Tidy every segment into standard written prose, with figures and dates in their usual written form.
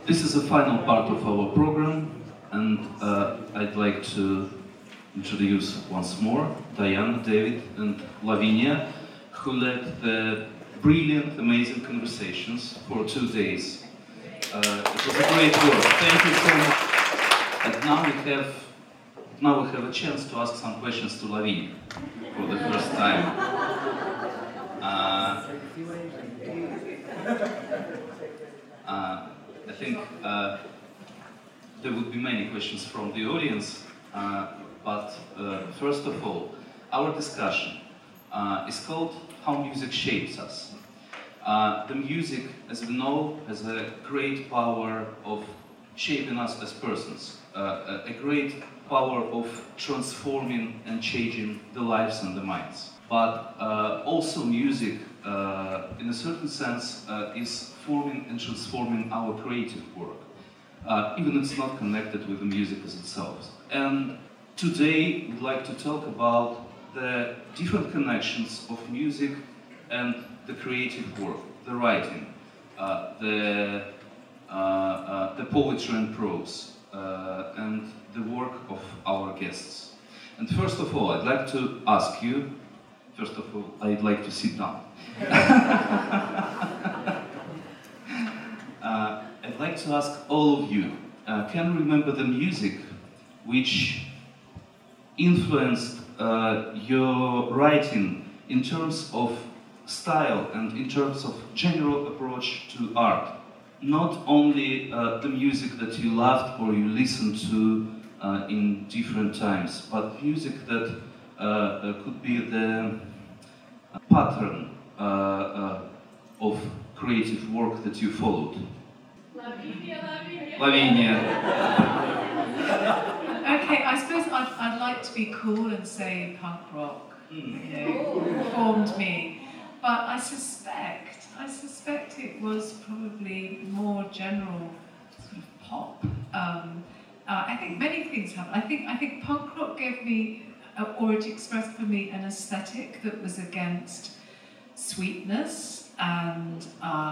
This is the final part of our program, and I'd like to introduce once more Diana, David, and Lavinia, who led the brilliant, amazing conversations for 2 days. It was a great work. Thank you so much. And now we have a chance to ask some questions to Lavinia for the first time. I think there would be many questions from the audience, but first of all, our discussion is called How Music Shapes Us. The music, as we know, has a great power of shaping us as persons, a great power of transforming and changing the lives and the minds. But also music, in a certain sense, is forming and transforming our creative work, even if it's not connected with the music as itself. And today we'd like to talk about the different connections of music and the creative work, the writing, the poetry and prose, and the work of our guests. And first of all, I'd like to ask you, first of all, I'd like to sit down. I'd like to ask all of you, can you remember the music which influenced your writing in terms of style and in terms of general approach to art? Not only the music that you loved or you listened to in different times, but music that could be the pattern of creative work that you followed. Lavinia. Okay, I suppose I'd like to be cool and say punk rock, formed me. But I suspect it was probably more general sort of pop. I think many things happened. I think punk rock gave me, or it expressed for me, an aesthetic that was against sweetness and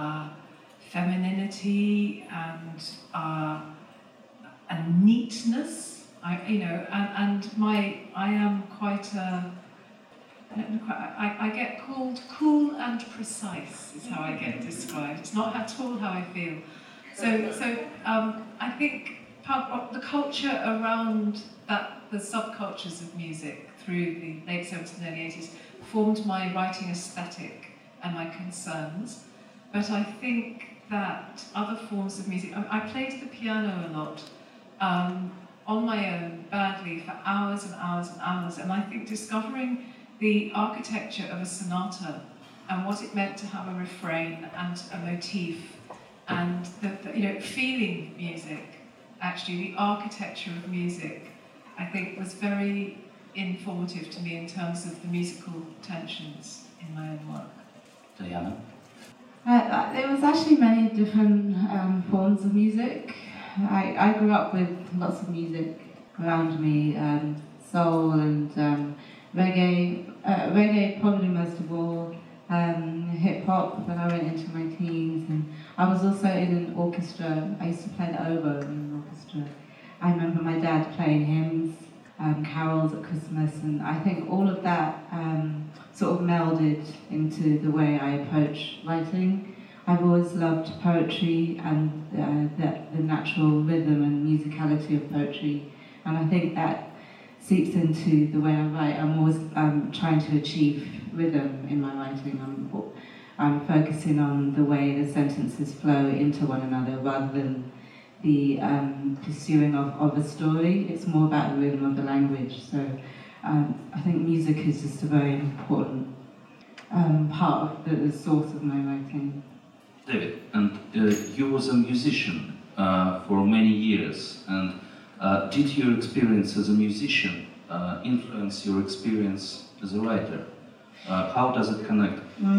femininity and neatness. I am quite a. I get called cool and precise, is how I get described. It's not at all how I feel. So I think punk rock, the culture around that, the subcultures of music through the late 70s and early 80s, formed my writing aesthetic and my concerns. But I think that other forms of music, I played the piano a lot, on my own, badly, for hours and hours and hours, and I think discovering the architecture of a sonata and what it meant to have a refrain and a motif and the feeling music, actually the architecture of music, I think was very informative to me in terms of the musical tensions in my own work. Diana? There was actually many different forms of music. I grew up with lots of music around me, soul and reggae probably most of all, hip-hop when I went into my teens, and I was also in an orchestra. I used to play the oboe in an orchestra. I remember my dad playing hymns, carols at Christmas, and I think all of that sort of melded into the way I approach writing. I've always loved poetry and the natural rhythm and musicality of poetry, and I think that seeps into the way I write. I'm always trying to achieve rhythm in my writing. I'm focusing on the way the sentences flow into one another rather than the pursuing of a story. It's more about the rhythm of the language. So I think music is just a very important part of the source of my writing. David, and you was a musician for many years, and did your experience as a musician influence your experience as a writer? How does it connect?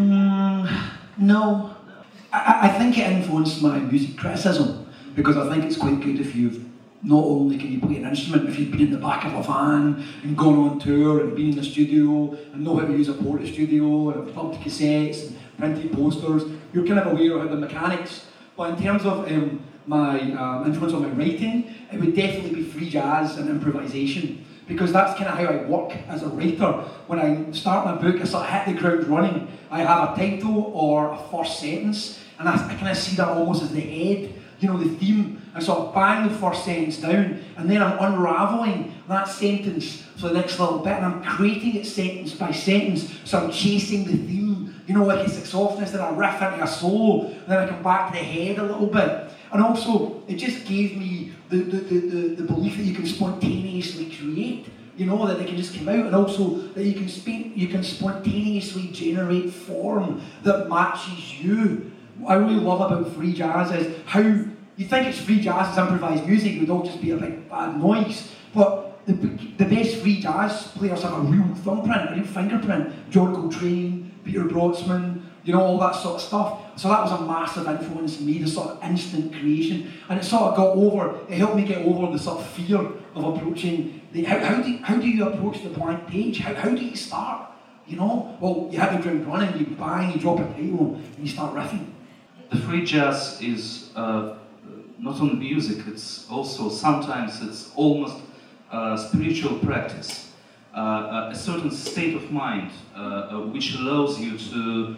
No. I think it influenced my music criticism, because I think it's quite good if you've not only can you play an instrument, if you've been in the back of a van and gone on tour and been in the studio and know how to use a portrait studio and have dubbed cassettes and printed posters, you're kind of aware of how the mechanics. But in terms of my influence on my writing, it would definitely be free jazz and improvisation. Because that's kind of how I work as a writer. When I start my book, I sort of hit the ground running. I have a title or a first sentence, and I kind of see that almost as the head, you know, the theme. I sort of bang the first sentence down, and then I'm unravelling that sentence for the next little bit, and I'm creating it sentence by sentence, so I'm chasing the theme. You know, like it's like softness, then I riff into a solo, and then I come back to the head a little bit. And also, it just gave me the belief that you can spontaneously create, you know, that they can just come out, and also that you can spontaneously generate form that matches you. What I really love about free jazz is how you think it's free jazz, it's improvised music, it would all just be a big bad noise. But the best free jazz players have a real thumbprint, a real fingerprint. John Coltrane, Peter Brotzmann, you know, all that sort of stuff. So that was a massive influence in me, the sort of instant creation. And it sort of it helped me get over the sort of fear of approaching how do you approach the blank page? How do you start? You know? Well, you hit the ground running, you bang, you drop a title, and you start riffing. The free jazz is not only music, it's also sometimes it's almost spiritual practice. A certain state of mind which allows you to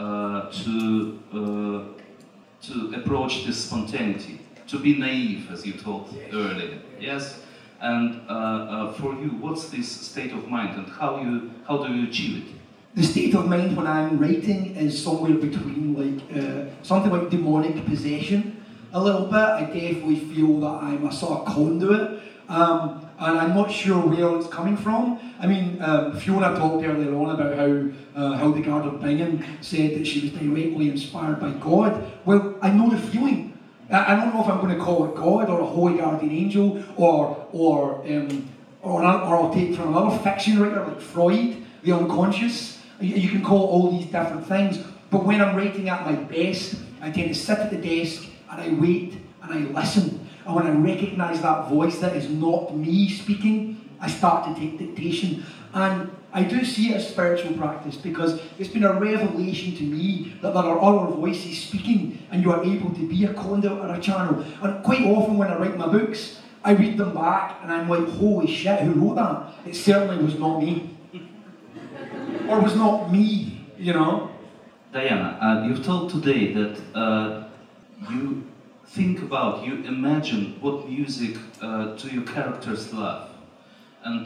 approach this spontaneity, to be naive, as you told earlier. Yes, and for you, what's this state of mind, and how do you achieve it? The state of mind when I'm writing is somewhere between like something like demonic possession, a little bit. I definitely feel that I'm a sort of conduit. And I'm not sure where it's coming from. I mean, Fiona talked earlier on about how Hildegard of Bingen said that she was directly inspired by God. Well, I know the feeling. I don't know if I'm going to call it God or a holy guardian angel or I'll take from another fiction writer like Freud, the unconscious. You can call all these different things. But when I'm writing at my best, I tend to sit at the desk and I wait and I listen. And when I recognise that voice that is not me speaking, I start to take dictation. And I do see it as spiritual practice because it's been a revelation to me that there are other voices speaking and you are able to be a conduit or a channel. And quite often when I write my books, I read them back and I'm like, holy shit, who wrote that? It certainly was not me. Or was not me, you know? Diana, you've told today that you imagine what music do your characters love, and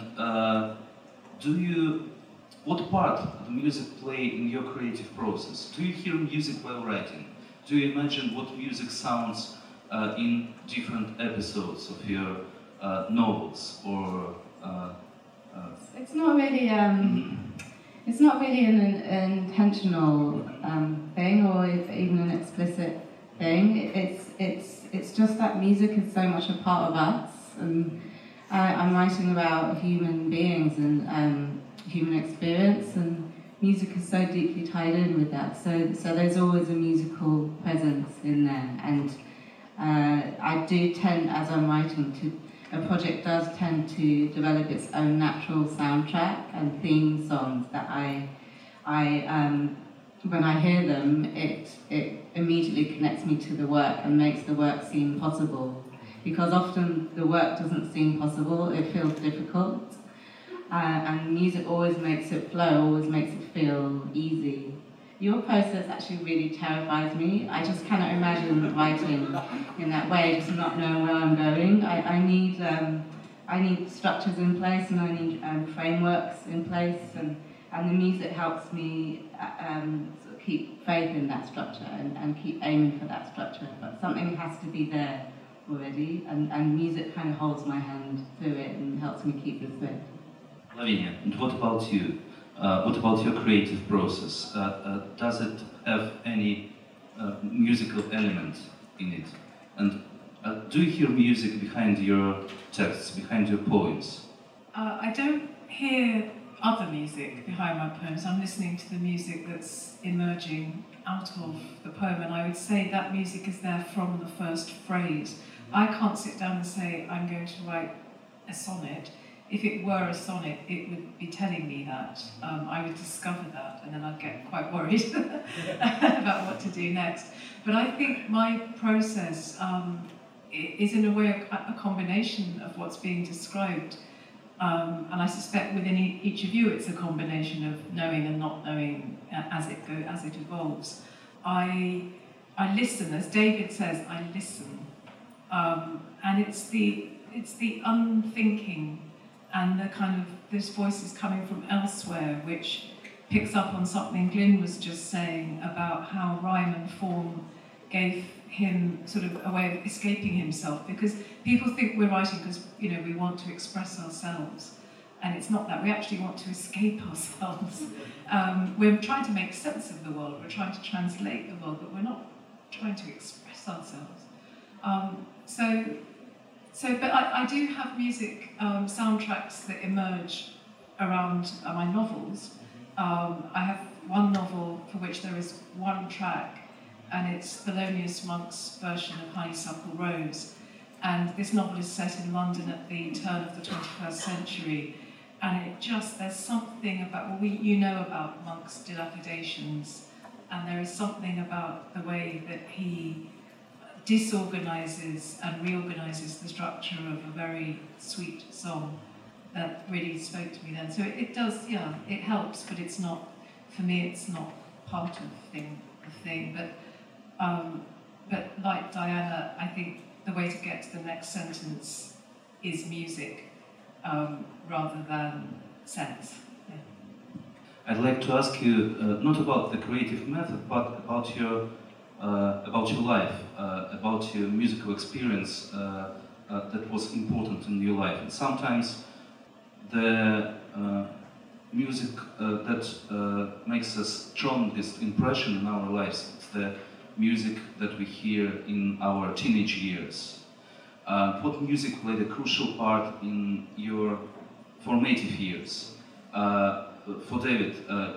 what part do music play in your creative process? Do you hear music while writing? Do you imagine what music sounds in different episodes of your novels or? It's not really. It's not really an intentional thing, or even an explicit thing. It's just that music is so much a part of us, and I'm writing about human beings and human experience, and music is so deeply tied in with that. So there's always a musical presence in there, and I do tend, as I'm writing, a project does tend to develop its own natural soundtrack and theme songs that I when I hear them, it immediately connects me to the work and makes the work seem possible. Because often the work doesn't seem possible, it feels difficult. And music always makes it flow, always makes it feel easy. Your process actually really terrifies me. I just cannot imagine writing in that way, just not knowing where I'm going. I need structures in place, and I need frameworks in place, and the music helps me sort of keep faith in that structure and keep aiming for that structure. But something has to be there already, and music kind of holds my hand through it and helps me keep the thread. Lavinia, and what about you? What about your creative process? Does it have any musical element in it? And do you hear music behind your texts, behind your poems? I don't hear other music behind my poems. I'm listening to the music that's emerging out of the poem, and I would say that music is there from the first phrase. I can't sit down and say, I'm going to write a sonnet. if it were a sonnet, it would be telling me that. I would discover that, and then I'd get quite worried about what to do next. But I think my process is in a way a combination of what's being described. And I suspect within each of you it's a combination of knowing and not knowing as it evolves. I listen, as David says, I listen. And it's the unthinking and the kind of those voices coming from elsewhere which picks up on something Glyn was just saying about how rhyme and form gave him sort of a way of escaping himself, because people think we're writing because we want to express ourselves, and it's not that. We actually want to escape ourselves. We're trying to make sense of the world, we're trying to translate the world, but we're not trying to express ourselves. But I do have music soundtracks that emerge around my novels. I have one novel for which there is one track, and it's Thelonious Monk's version of Honeysuckle Rose. And this novel is set in London at the turn of the 21st century. And there's something about, about Monk's dilapidations, and there is something about the way that he disorganises and reorganises the structure of a very sweet song that really spoke to me then. So it does, it helps, but it's not, for me, it's not part of the thing. But like Diana, I think the way to get to the next sentence is music rather than sense. Yeah. I'd like to ask you not about the creative method, but about your life, about your musical experience that was important in your life. And sometimes the music that makes us strongest impression in our lives, it's the music that we hear in our teenage years. What music played a crucial part in your formative years? For David,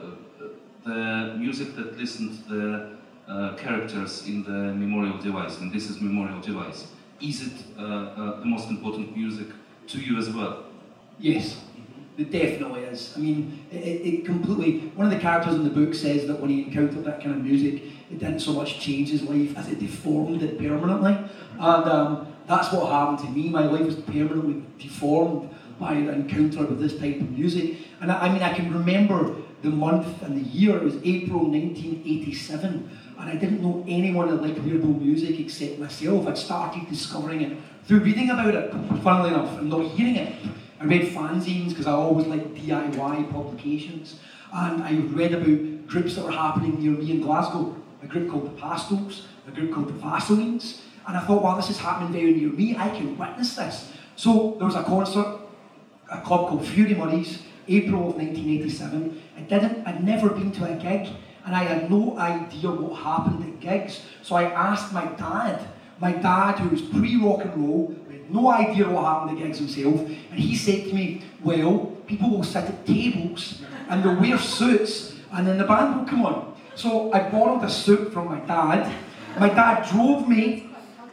the music that listened to the characters in the memorial device, and this is memorial device. Is it the most important music to you as well? Yes, it definitely is. I mean, it completely, one of the characters in the book says that when he encountered that kind of music, it didn't so much change his life as it deformed it permanently. And that's what happened to me. My life was permanently deformed by the encounter with this type of music. And I can remember the month and the year. It was April 1987. And I didn't know anyone that liked weirdo music except myself. I'd started discovering it through reading about it, funnily enough, and not hearing it. I read fanzines because I always liked DIY publications. And I read about groups that were happening near me in Glasgow. A group called the Pastels, a group called the Vaselines. And I thought, wow, this is happening very near me. I can witness this. So there was a concert, a club called Fury Murray's, April of 1987. I'd never been to a gig. And I had no idea what happened at gigs. So I asked my dad who was pre-rock and roll, had no idea what happened at gigs himself, and he said to me, well, people will sit at tables and they'll wear suits and then the band will come on. So I borrowed a suit from my dad. My dad drove me.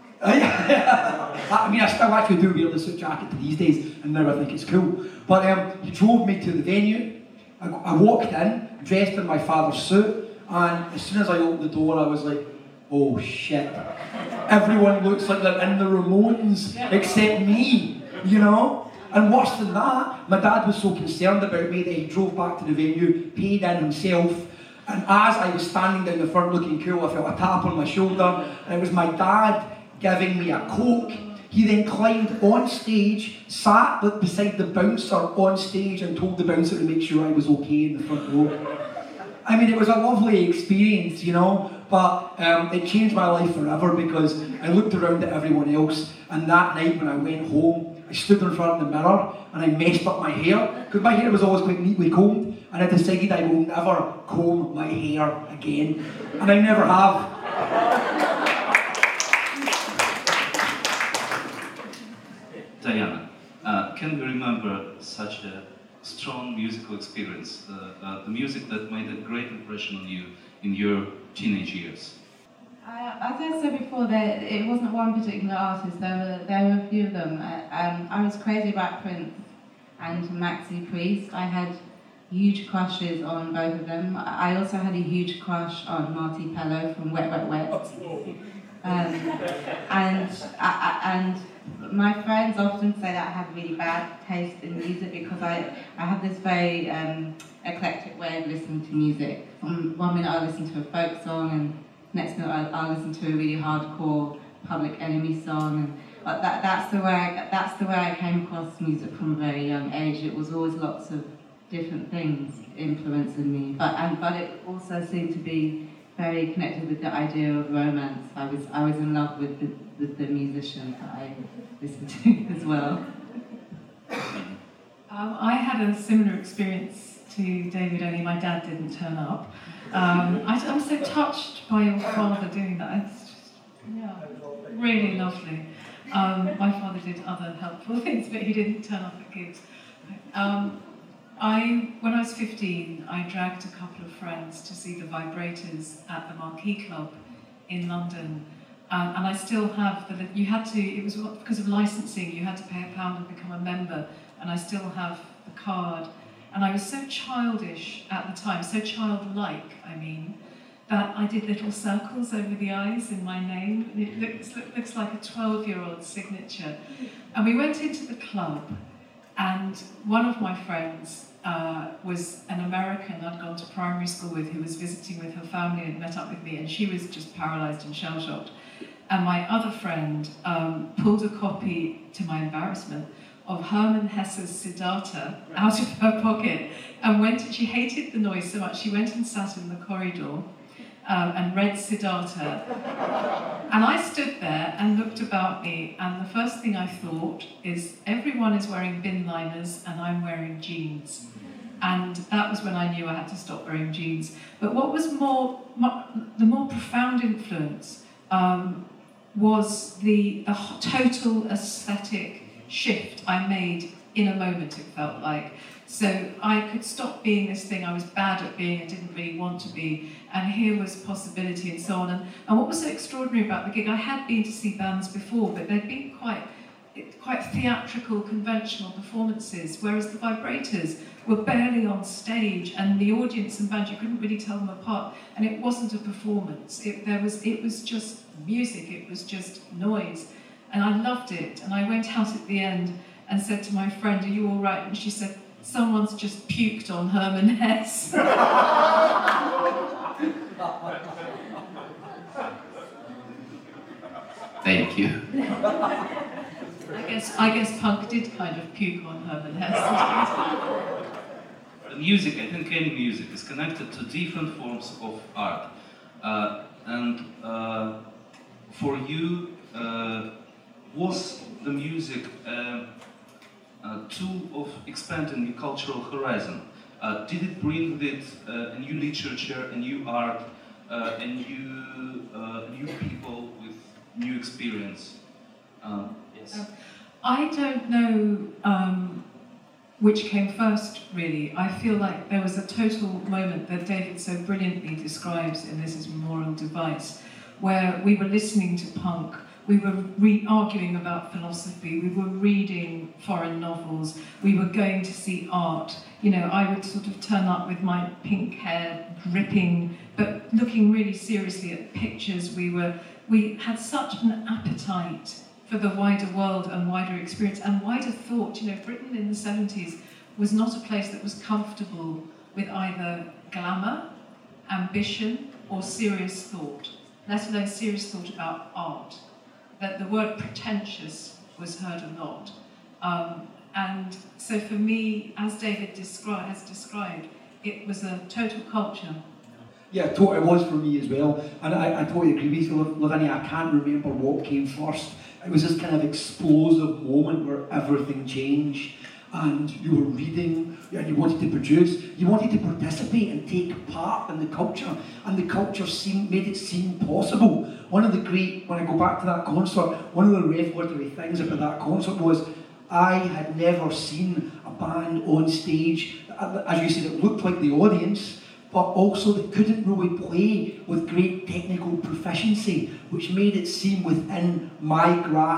I mean, I still actually do wear the suit jacket these days, and now I think it's cool. But he drove me to the venue. I walked in, dressed in my father's suit, and as soon as I opened the door, I was like, oh shit. Everyone looks like they're in the Ramones, except me, And worse than that, my dad was so concerned about me that he drove back to the venue, paid in himself, and as I was standing down the front looking cool, I felt a tap on my shoulder, and it was my dad giving me a Coke. He then climbed on stage, sat beside the bouncer on stage and told the bouncer to make sure I was okay in the front row. I mean, it was a lovely experience, but it changed my life forever because I looked around at everyone else, and that night when I went home, I stood in front of the mirror and I messed up my hair, because my hair was always quite neatly combed, and I decided I will never comb my hair again, and I never have. Diana, can you remember such a strong musical experience, the music that made a great impression on you in your teenage years? As I said before, it wasn't one particular artist, there were a few of them. I was crazy about Prince, and Maxi Priest. I had huge crushes on both of them. I also had a huge crush on Marty Pello from Wet Wet Wet. And my friends often say that I have really bad taste in music because I have this very eclectic way of listening to music. One minute I listen to a folk song, and next minute I'll listen to a really hardcore Public Enemy song. And that's the way I came across music from a very young age. It was always lots of different things influencing me, but it also seemed to be very connected with the idea of romance. I was in love with the musician that I listened to as well. I had a similar experience to David, only my dad didn't turn up. I'm so touched by your father doing that. It's just, yeah, really lovely. My father did other helpful things, but he didn't turn up at gigs. When I was 15, I dragged a couple of friends to see the Vibrators at the Marquee Club in London. And I still have it was because of licensing, you had to pay £1 and become a member, and I still have the card. And I was so childish at the time, so childlike, I mean, that I did little circles over the eyes in my name. It looks like a 12-year-old signature. And we went into the club, and one of my friends was an American I'd gone to primary school with, who was visiting with her family and met up with me, and she was just paralysed and shell-shocked. And my other friend pulled a copy, to my embarrassment, of Hermann Hesse's Siddhartha out of her pocket, and she hated the noise so much, she went and sat in the corridor and read Siddhartha. And I stood there and looked about me, and the first thing I thought is, everyone is wearing bin liners and I'm wearing jeans. And that was when I knew I had to stop wearing jeans. But what was the more profound influence was the total aesthetic shift I made in a moment, it felt like. So I could stop being this thing I was bad at being and didn't really want to be, and here was possibility and so on. And what was so extraordinary about the gig, I had been to see bands before, but they'd been quite theatrical, conventional performances, whereas the Vibrators were barely on stage, and the audience and band, you couldn't really tell them apart, and it wasn't a performance. It was just music, it was just noise, and I loved it. And I went out at the end and said to my friend, "Are you all right?" And she said, "Someone's just puked on Hermann Hesse." Thank you. I guess punk did kind of puke on Hermann Hesse. The music, I think any music, is connected to different forms of art. And for you, was the music a tool of expanding your cultural horizon? Did it bring with it a new literature, a new art, new people with new experience? Yes. I don't know which came first, really. I feel like there was a total moment that David so brilliantly describes in This Is Memorial Device, where we were listening to punk, we were arguing about philosophy, we were reading foreign novels, we were going to see art. You know, I would sort of turn up with my pink hair dripping, but looking really seriously at pictures. We had such an appetite for the wider world and wider experience and wider thought. You know, Britain in the 70s was not a place that was comfortable with either glamour, ambition, or serious thought, let alone serious thought about art. That the word pretentious was heard a lot. And so for me, as David has described, it was a total culture. Yeah, it was for me as well. And I totally agree with you, Lavinia. I can't remember what came first. It was this kind of explosive moment where everything changed, and you were reading, and you wanted to produce, you wanted to participate and take part in the culture, and the culture made it seem possible. When I go back to that concert, one of the revelatory things about that concert was I had never seen a band on stage, as you said, it looked like the audience, but also they couldn't really play with great technical proficiency, which made it seem within my grasp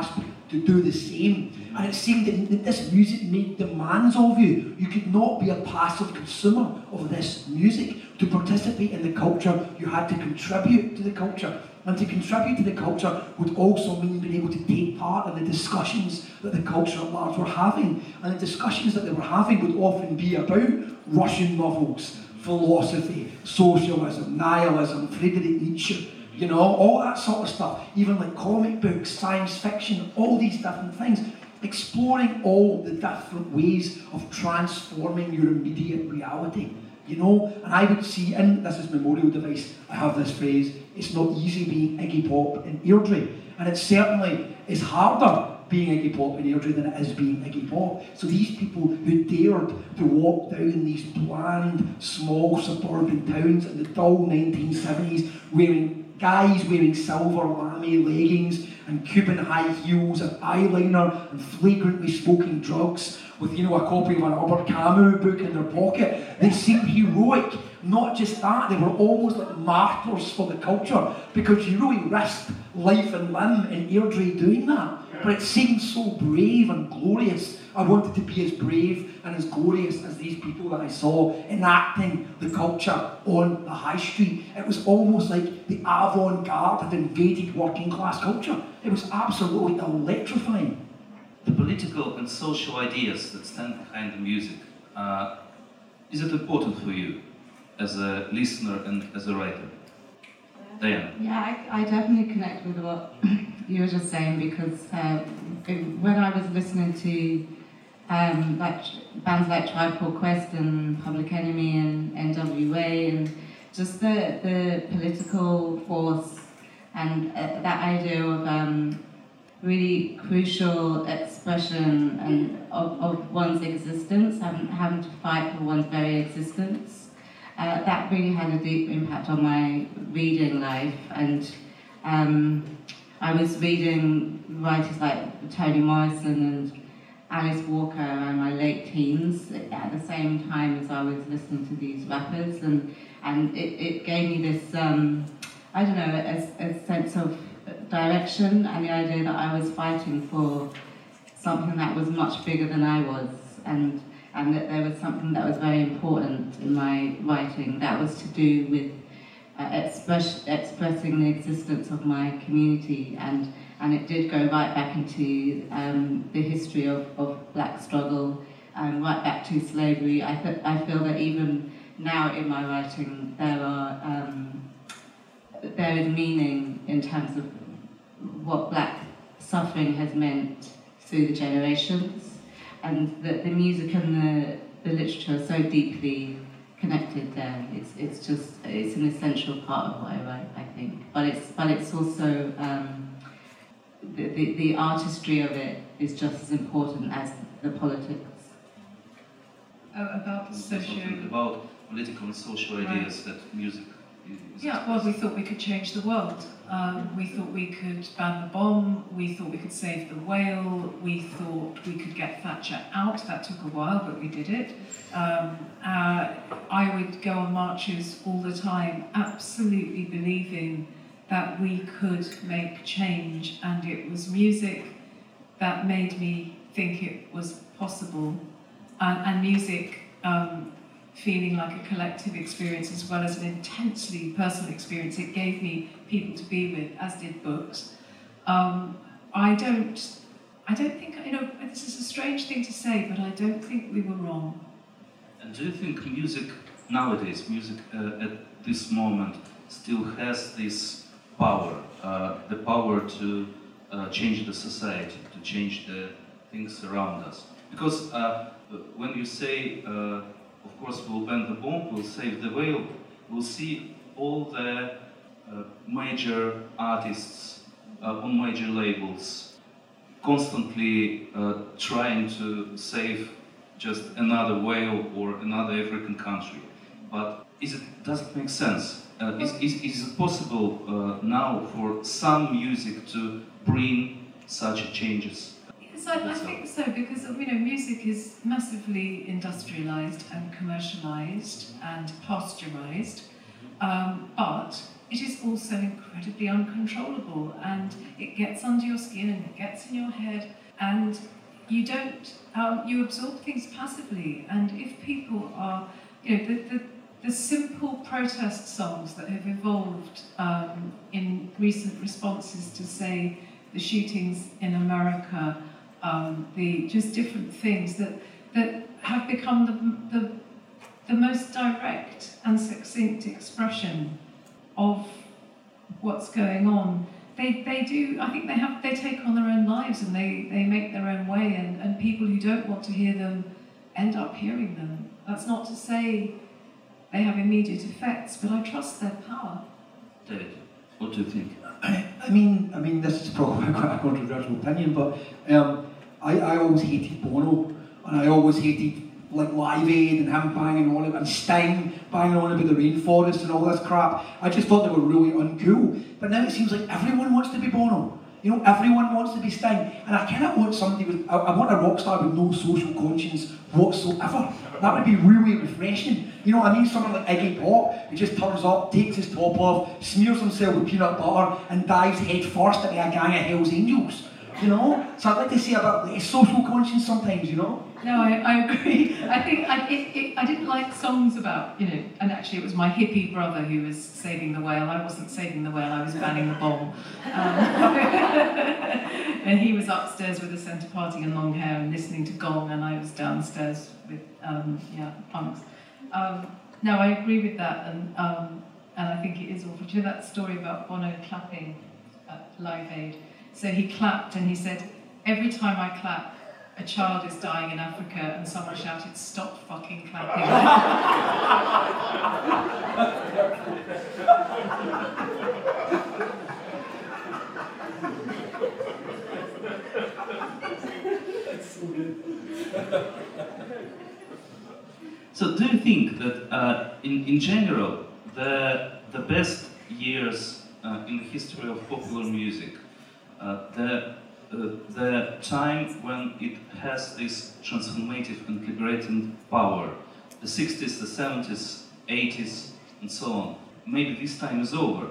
to do the same. And it seemed that this music made demands of you. You could not be a passive consumer of this music. To participate in the culture, you had to contribute to the culture. And to contribute to the culture would also mean being able to take part in the discussions that the culture at large were having. And the discussions that they were having would often be about Russian novels, philosophy, socialism, nihilism, Friedrich Nietzsche, you know, all that sort of stuff. Even like comic books, science fiction, all these different things. Exploring all the different ways of transforming your immediate reality. You know, and I would see in this is memorial device, I have this phrase, it's not easy being Iggy Pop in Airdrie. And it certainly is harder being Iggy Pop in Airdrie than it is being Iggy Pop. So these people who dared to walk down these bland, small suburban towns in the dull 1970s, guys wearing silver lame leggings and Cuban high heels and eyeliner and flagrantly smoking drugs with, you know, a copy of an Albert Camus book in their pocket. They seemed heroic. Not just that, they were almost like martyrs for the culture because you really risked life and limb in Airdrie doing that. But it seemed so brave and glorious. I wanted to be as brave and as glorious as these people that I saw enacting the culture on the high street. It was almost like the avant-garde had invaded working class culture. It was absolutely electrifying. The political and social ideas that stand behind the music, is it important for you as a listener and as a writer? Diana? Yeah, I definitely connect with what you were just saying because when I was listening to like bands like Tribe Called Quest and Public Enemy and NWA and just the political force and that idea of really crucial expression and of one's existence, having to fight for one's very existence. That really had a deep impact on my reading life, and I was reading writers like Toni Morrison and Alice Walker in my late teens at the same time as I was listening to these rappers, and it gave me this, I don't know, a sense of direction and the idea that I was fighting for something that was much bigger than I was, and that there was something that was very important in my writing that was to do with expressing the existence of my community, and it did go right back into the history of black struggle, right back to slavery. I feel that even now in my writing there is meaning in terms of what black suffering has meant through the generations, and that the music and the literature are so deeply connected there. It's an essential part of what I write, I think. But it's also the artistry of it is just as important as the politics. About about political and social ideas that music is. Yeah, well, we thought we could change the world. We thought we could ban the bomb. We thought we could save the whale. We thought we could get Thatcher out. That took a while, but we did it. I would go on marches all the time, absolutely believing that we could make change, and it was music that made me think it was possible, and music feeling like a collective experience as well as an intensely personal experience. It gave me people to be with, as did books. I don't think, you know, this is a strange thing to say, but I don't think we were wrong. And do you think music nowadays, music at this moment, still has this power, the power to change the society, to change the things around us? Because when you say, of course, we'll ban the bomb, we'll save the whale, we'll see all the major artists on major labels constantly trying to save just another whale or another African country. But does it make sense? Is it possible now for some music to bring such changes? Yes, I think so, because you know, music is massively industrialized and commercialized and pasteurized, but it is also incredibly uncontrollable, and it gets under your skin and it gets in your head, and you don't, you absorb things passively. And if people are, the simple protest songs that have evolved in recent responses to, say, the shootings in America, the just different things that have become the most direct and succinct expression of what's going on. They do, I think they take on their own lives, and they make their own way, and people who don't want to hear them end up hearing them. That's not to say they have immediate effects, but I trust their power. David, what do you think? I mean, this is probably quite a controversial opinion, but I always hated Bono, and I always hated like Live Aid and him banging on it, and Sting banging on about the rainforest and all this crap. I just thought they were really uncool. But now it seems like everyone wants to be Bono. You know, everyone wants to be Sting. And I kind of want somebody with, I want a rock star with no social conscience whatsoever. That would be really refreshing. You know what I mean? Someone like Iggy Pop, who just turns up, takes his top off, smears himself with peanut butter, and dives head first into a gang of Hell's Angels. You know? So I'd like to see a bit less social conscience sometimes, you know? No, I agree. I think I didn't like songs about, and actually it was my hippie brother who was saving the whale. I wasn't saving the whale, I was banning the bomb. And he was upstairs with a centre parting and long hair and listening to Gong, and I was downstairs with, punks. No, I agree with that, and I think it is awful. Do you know that story about Bono clapping at Live Aid? So he clapped and he said, every time I clap, a child is dying in Africa, and someone shouted, "Stop fucking clapping." So do you think that in general, the best years in the history of popular music, the time when it has this transformative and liberating power, the 60s, the 70s, 80s, and so on, maybe this time is over.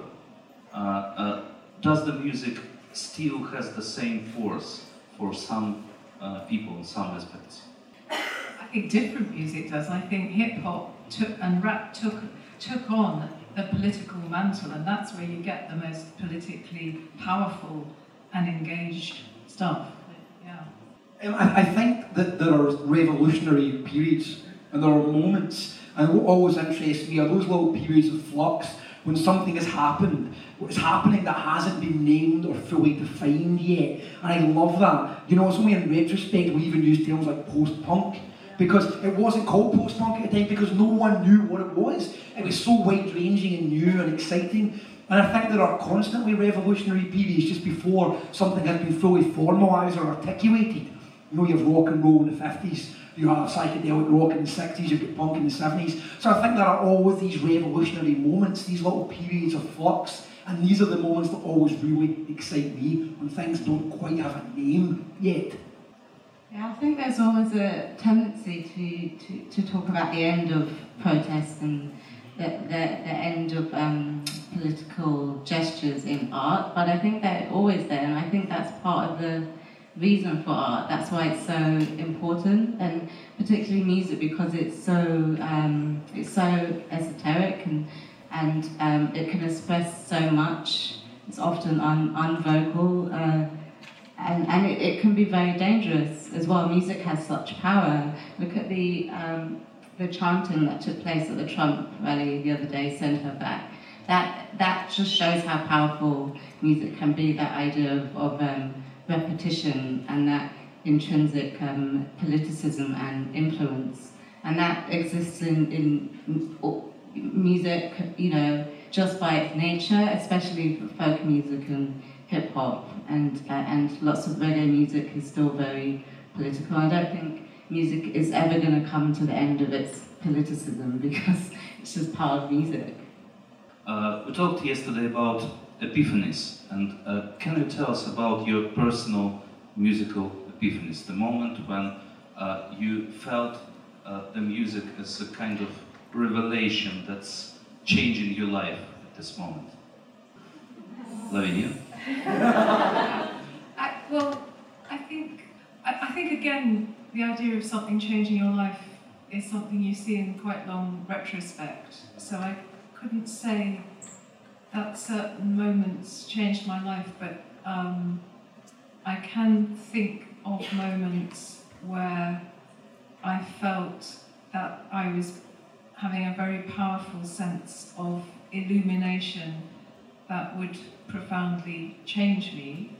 Does the music still has the same force for some people in some aspects? I think different music does. I think hip-hop and rap took on the political mantle, and that's where you get the most politically powerful and engaged stuff. Yeah. I think that there are revolutionary periods, and there are moments, and what always interests me are those little periods of flux when something has happened, what's happening that hasn't been named or fully defined yet. And I love that. You know, it's only in retrospect we even use terms like post-punk, because it wasn't called post-punk at the time because no one knew what it was. It was so wide-ranging and new and exciting. And I think there are constantly revolutionary periods just before something has been fully formalised or articulated. You know, you have rock and roll in the 50s, you have psychedelic rock in the 60s, you've got punk in the 70s. So I think there are always these revolutionary moments, these little periods of flux, and these are the moments that always really excite me, when things don't quite have a name yet. Yeah, I think there's always a tendency to talk about the end of protest and the end of political gestures in art, but I think they're always there, and I think that's part of the reason for art. That's why it's so important, and particularly music, because it's so esoteric and it can express so much. It's often unvocal, and it can be very dangerous as well. Music has such power. Look at the chanting that took place at the Trump rally the other day, "Send her back." That just shows how powerful music can be, that idea of repetition and that intrinsic politicism and influence. And that exists in music, just by its nature, especially for folk music and hip-hop, and lots of reggae music is still very political. I don't think music is ever going to come to the end of its politicism, because it's just part of music. We talked yesterday about epiphanies, and can you tell us about your personal musical epiphanies, the moment when you felt the music as a kind of revelation that's changing your life at this moment? Lavinia? I think again, the idea of something changing your life is something you see in quite long retrospect. So I couldn't say that certain moments changed my life, but I can think of moments where I felt that I was having a very powerful sense of illumination that would profoundly change me.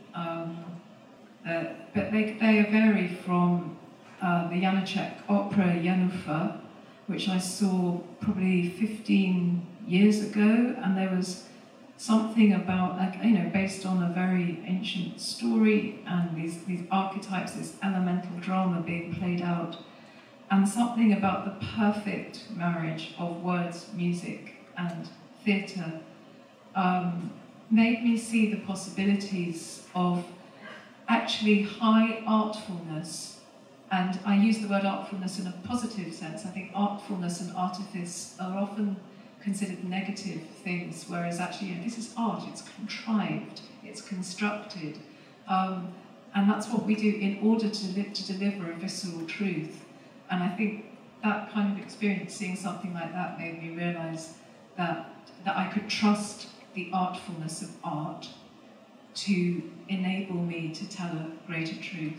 But they vary from the Janacek opera Janufa, which I saw probably 15 years ago, and there was something about, based on a very ancient story and these archetypes, this elemental drama being played out, and something about the perfect marriage of words, music, and theatre made me see the possibilities of actually high artfulness. And I use the word artfulness in a positive sense. I think artfulness and artifice are often considered negative things, whereas actually, this is art, it's contrived, it's constructed. And that's what we do in order to deliver a visceral truth. And I think that kind of experience, seeing something like that, made me realise that I could trust the artfulness of art to enable me to tell a greater truth.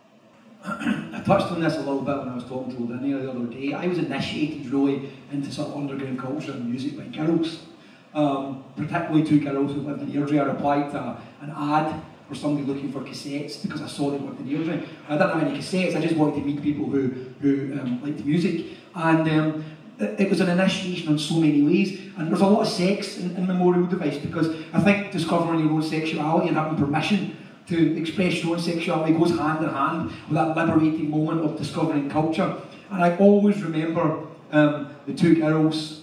I touched on this a little bit when I was talking to Lavinia the other day. I was initiated really into sort of underground culture and music by girls, particularly two girls who lived in Airdrie. I replied to an ad for somebody looking for cassettes because I saw they worked in Airdrie. I didn't have any cassettes, I just wanted to meet people who liked music. And it was an initiation in so many ways, and there's a lot of sex in Memorial Device, because I think discovering your own sexuality and having permission to express your own sexuality goes hand in hand with that liberating moment of discovering culture. And I always remember the two girls,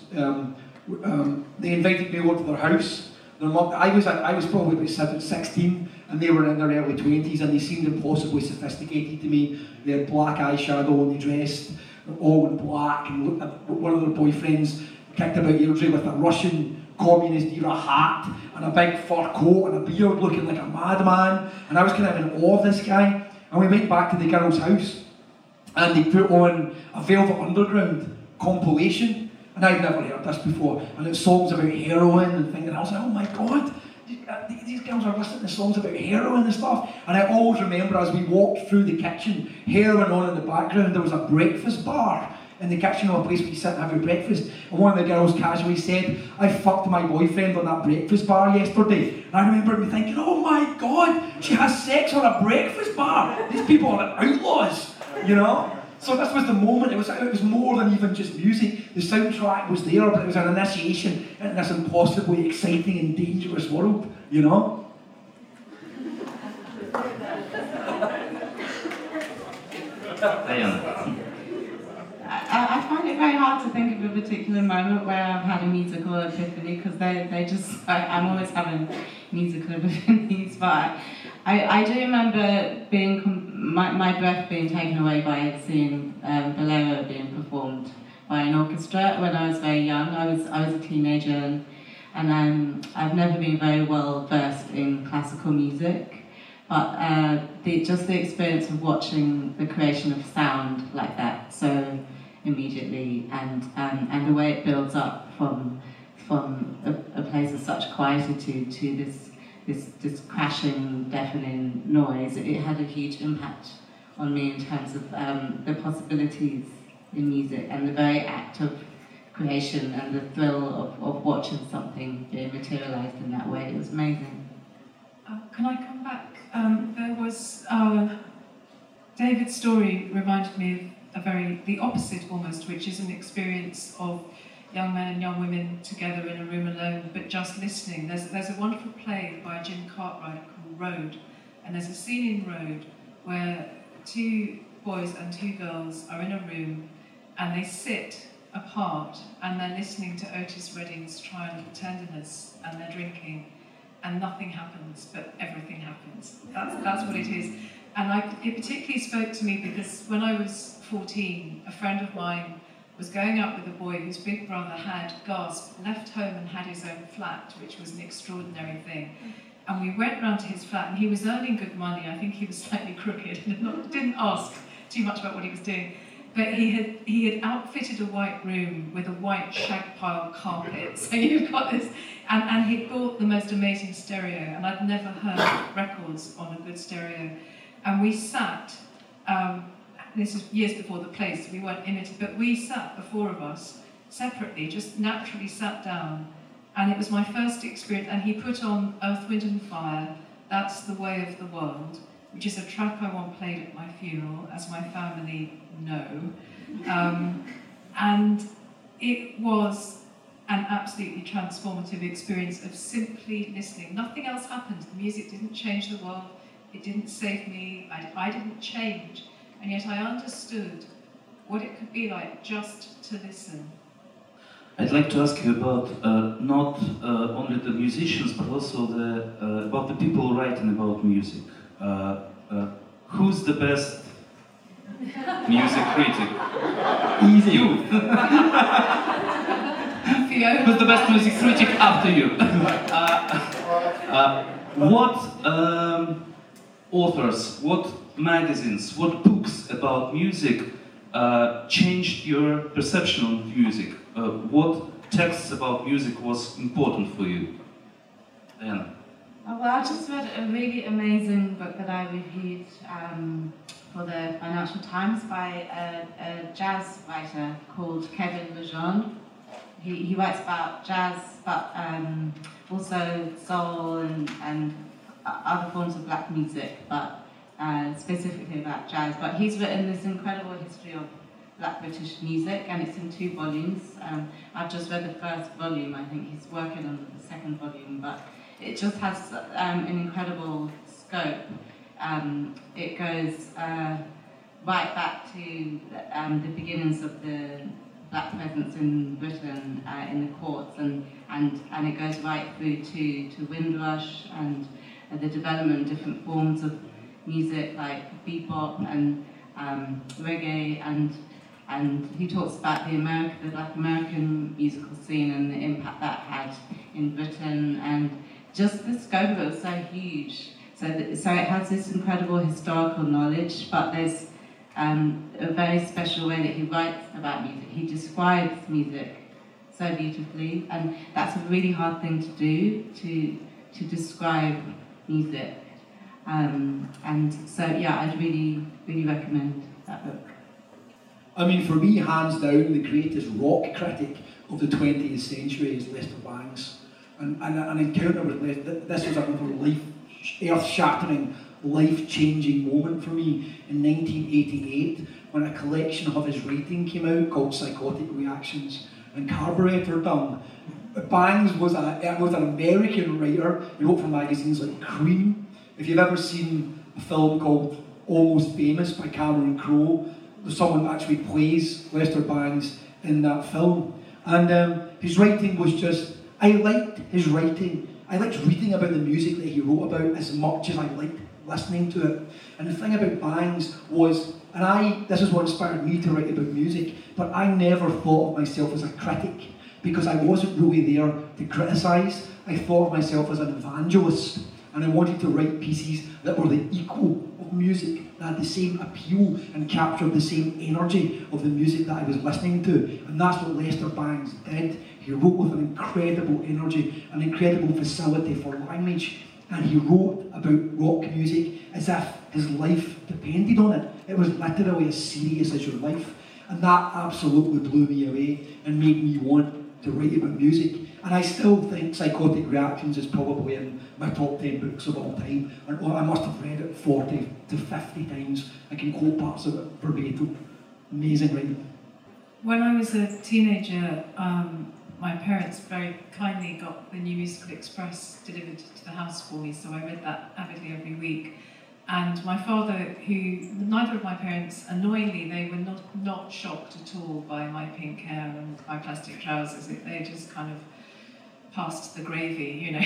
they invited me over to their house. I was probably about 16, and they were in their early 20s, and they seemed impossibly sophisticated to me. They had black eyeshadow and they dressed all in black, and one of their boyfriends kicked about Airdrie with a Russian communist-era hat and a big fur coat and a beard, looking like a madman. And I was kind of in awe of this guy. And we went back to the girl's house, and they put on a Velvet Underground compilation, and I'd never heard this before. And it's songs about heroin and things, and I was like, oh my God, these girls are listening to songs about heroin and stuff. And I always remember as we walked through the kitchen, heroin on in the background, there was a breakfast bar in the kitchen, of a place where you sit and have your breakfast. And one of the girls casually said, I fucked my boyfriend on that breakfast bar yesterday. And I remember me thinking, oh my God, she has sex on a breakfast bar. These people are outlaws, you know? So this was the moment. It was more than even just music. The soundtrack was there, but it was an initiation into this impossibly exciting and dangerous world, you know? Diana. I find it very hard to think of a particular moment where I've had a musical epiphany, because they just, I'm always having musical epiphanies, but I do remember my breath being taken away by seeing Bolero being performed by an orchestra when I was very young. I was a teenager, and I've never been very well versed in classical music, but just the experience of watching the creation of sound like that so immediately, and the way it builds up from a place of such quietude to this crashing, deafening noise, it had a huge impact on me in terms of the possibilities in music and the very act of creation and the thrill of watching something being materialised in that way. It was amazing. Can I come back? There was David's story reminded me of the opposite almost, which is an experience of young men and young women together in a room alone, but just listening. There's a wonderful play by Jim Cartwright called Road, and there's a scene in Road where two boys and two girls are in a room and they sit apart and they're listening to Otis Redding's Trial of Tenderness, and they're drinking, and nothing happens, but everything happens. That's what it is. And it particularly spoke to me because when I was 14, a friend of mine was going out with a boy whose big brother had, left home and had his own flat, which was an extraordinary thing. And we went round to his flat, and he was earning good money. I think he was slightly crooked and didn't ask too much about what he was doing. But he had outfitted a white room with a white shag pile carpet. So you've got this, and he bought the most amazing stereo, and I'd never heard records on a good stereo. And we sat, this is years before the place, we weren't in it, but we sat, the four of us, separately, just naturally sat down. And it was my first experience, and he put on Earth, Wind and Fire, That's the Way of the World, which is a track I want played at my funeral, as my family know. And it was an absolutely transformative experience of simply listening. Nothing else happened. The music didn't change the world. It didn't save me. I didn't change. And yet I understood what it could be like just to listen. I'd like to ask you about not only the musicians, but also about the people writing about music. Who's the best music critic? Easy. You. Who's the best music critic after you? What authors, what magazines, what books about music changed your perception of music? What texts about music was important for you? Diana. Oh, well, I just read a really amazing book that I reviewed for the Financial Times by a jazz writer called Kevin Lejeune. He writes about jazz, but also soul and other forms of black music, but specifically about jazz. But he's written this incredible history of Black British music, and it's in 2 volumes. I've just read the first volume. I think he's working on the second volume, but it just has an incredible scope. It goes right back to the beginnings of the black presence in Britain in the courts, and it goes right through to Windrush and the development of different forms of music like bebop and reggae, and he talks about the Black American musical scene and the impact that had in Britain, and just the scope of it was so huge. So it has this incredible historical knowledge, but there's a very special way that he writes about music. He describes music so beautifully, and that's a really hard thing to do, to describe music. And so, yeah, I'd really, really recommend that book. I mean, for me, hands down, the greatest rock critic of the 20th century is Lester Bangs. And an encounter with Lester, this was a earth-shattering, life-changing moment for me in 1988, when a collection of his writing came out called Psychotic Reactions and Carburetor Dung. Bangs was an American writer. He wrote for magazines like Cream. If you've ever seen a film called Almost Famous by Cameron Crowe, someone actually plays Lester Bangs in that film. And his writing was just, I liked his writing. I liked reading about the music that he wrote about as much as I liked listening to it. And the thing about Bangs was, this is what inspired me to write about music, but I never thought of myself as a critic, because I wasn't really there to criticise. I thought of myself as an evangelist, and I wanted to write pieces that were the equal of music, that had the same appeal and captured the same energy of the music that I was listening to. And that's what Lester Bangs did. He wrote with an incredible energy, an incredible facility for language, and he wrote about rock music as if his life depended on it. It was literally as serious as your life. And that absolutely blew me away and made me want to write about music. And I still think Psychotic Reactions is probably in my top 10 books of all time. And I must have read it 40 to 50 times. I can quote parts of it verbatim. Amazing writing. When I was a teenager, my parents very kindly got the New Musical Express delivered to the house for me, so I read that avidly every week. And my father, neither of my parents, annoyingly, they were not shocked at all by my pink hair and my plastic trousers. They just kind of passed the gravy, you know.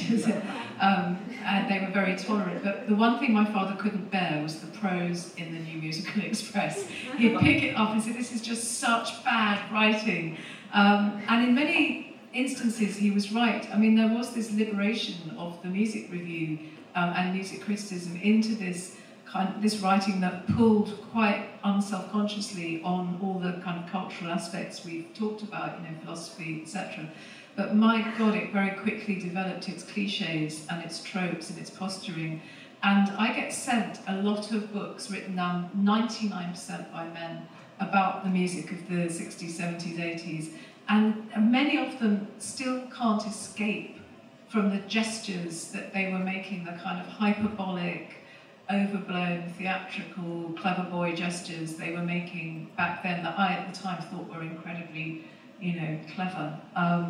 And they were very tolerant. But the one thing my father couldn't bear was the prose in the New Musical Express. He'd pick it up and say, this is just such bad writing. And in many instances, he was right. I mean, there was this liberation of the music review and music criticism into this this writing that pulled quite unselfconsciously on all the kind of cultural aspects we've talked about, you know, philosophy, etc. But my God, it very quickly developed its cliches and its tropes and its posturing. And I get sent a lot of books written down 99% by men about the music of the 60s, 70s, 80s. And many of them still can't escape from the gestures that they were making, the kind of hyperbolic, overblown, theatrical, clever boy gestures they were making back then that I at the time thought were incredibly, you know, clever.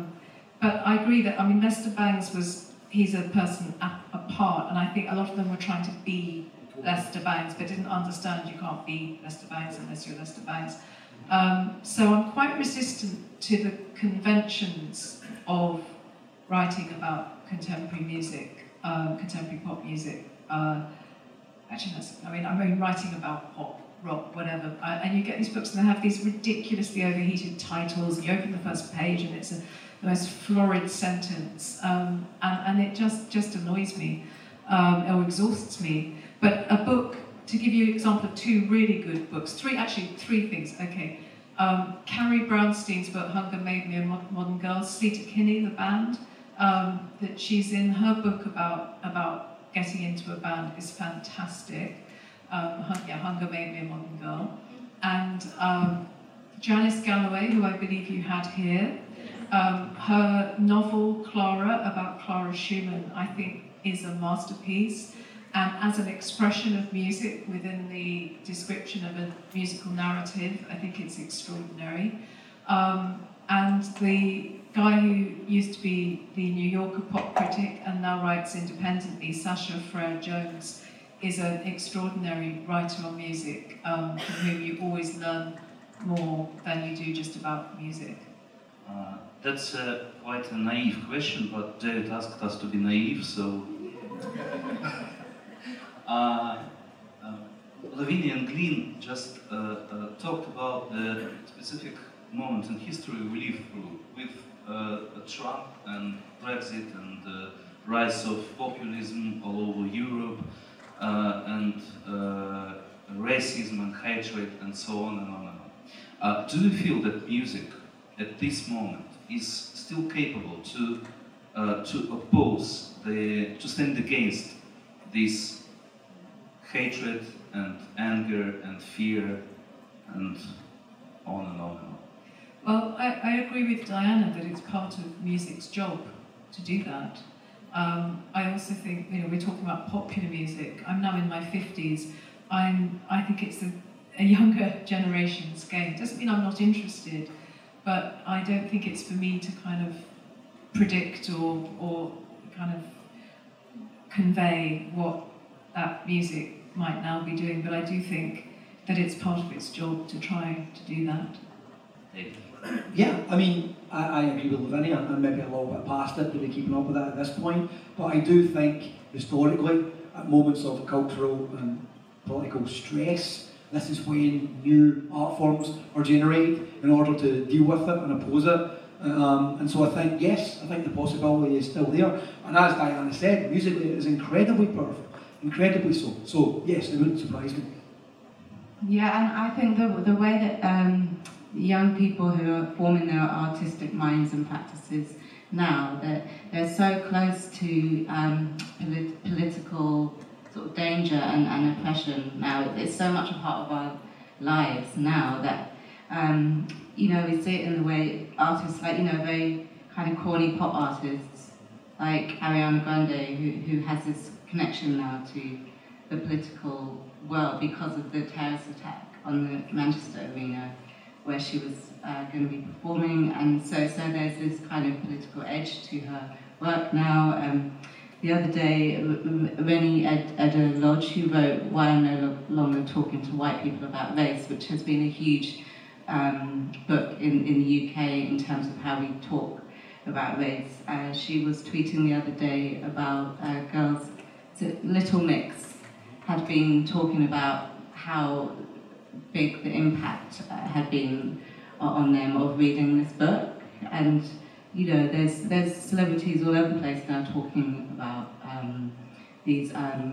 But I agree that, I mean, Lester Bangs he's a person apart, and I think a lot of them were trying to be Lester Bangs, but didn't understand you can't be Lester Bangs unless you're Lester Bangs. So I'm quite resistant to the conventions of writing about contemporary music, contemporary pop music. Actually, I'm writing about pop, rock, whatever, and you get these books and they have these ridiculously overheated titles, and you open the first page and it's the most florid sentence, and it just annoys me, or exhausts me. But a book, to give you an example of two really good books, three things, okay. Carrie Brownstein's book, Hunger Made Me a Modern Girl, Sleater Kinney, the band, that she's in, her book about getting into a band is fantastic. Hunger Made Me a Modern Girl. And Janice Galloway, who I believe you had here, her novel Clara, about Clara Schumann, I think is a masterpiece. And as an expression of music within the description of a musical narrative, I think it's extraordinary. And the guy who used to be the New Yorker pop critic and now writes independently, Sasha Frere-Jones, is an extraordinary writer on music, from whom you always learn more than you do just about music. That's quite a naive question, but David asked us to be naive, so... Lavinia and Glyn just talked about the specific moment in history we live through, with Trump and Brexit and the rise of populism all over Europe, and racism and hatred and so on and on and on. Do you feel that music at this moment is still capable to oppose, to stand against this hatred and anger and fear and on and on and on? Well, I agree with Diana that it's part of music's job to do that. I also think, you know, we're talking about popular music. I'm now in my 50s. I think it's a younger generation's game. It doesn't mean I'm not interested, but I don't think it's for me to kind of predict or kind of convey what that music might now be doing. But I do think that it's part of its job to try to do that. Yeah, I mean, I agree with Lavinia. I'm maybe a little bit past it, really keeping up with that at this point. But I do think, historically, at moments of cultural and political stress, this is when new art forms are generated in order to deal with it and oppose it. And so I think, yes, I think the possibility is still there. And as Diana said, musically it is incredibly powerful, incredibly so. So yes, it wouldn't surprise me. Yeah, and I think the way that young people who are forming their artistic minds and practices now, that they're so close to political sort of danger and oppression now. It's so much a part of our lives now that, you know, we see it in the way artists, like, you know, very kind of corny pop artists, like Ariana Grande, who has this connection now to the political world because of the terrorist attack on the Manchester Arena, where she was going to be performing, and so there's this kind of political edge to her work now. The other day, Rennie Edda Lodge, who wrote Why I'm No Longer Talking to White People About Race, which has been a huge book in the UK in terms of how we talk about race. She was tweeting the other day about girls. Little Mix had been talking about how big the impact had been on them of reading this book, and you know, there's celebrities all over the place now talking about these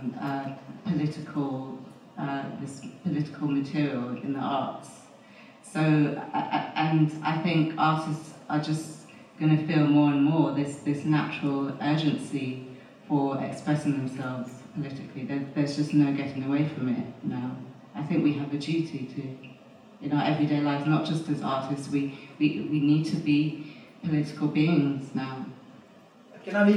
this political material in the arts. So, and I think artists are just going to feel more and more this natural urgency for expressing themselves politically. There's just no getting away from it now. I think we have a duty to, in our everyday lives, not just as artists, we need to be political beings now. Can I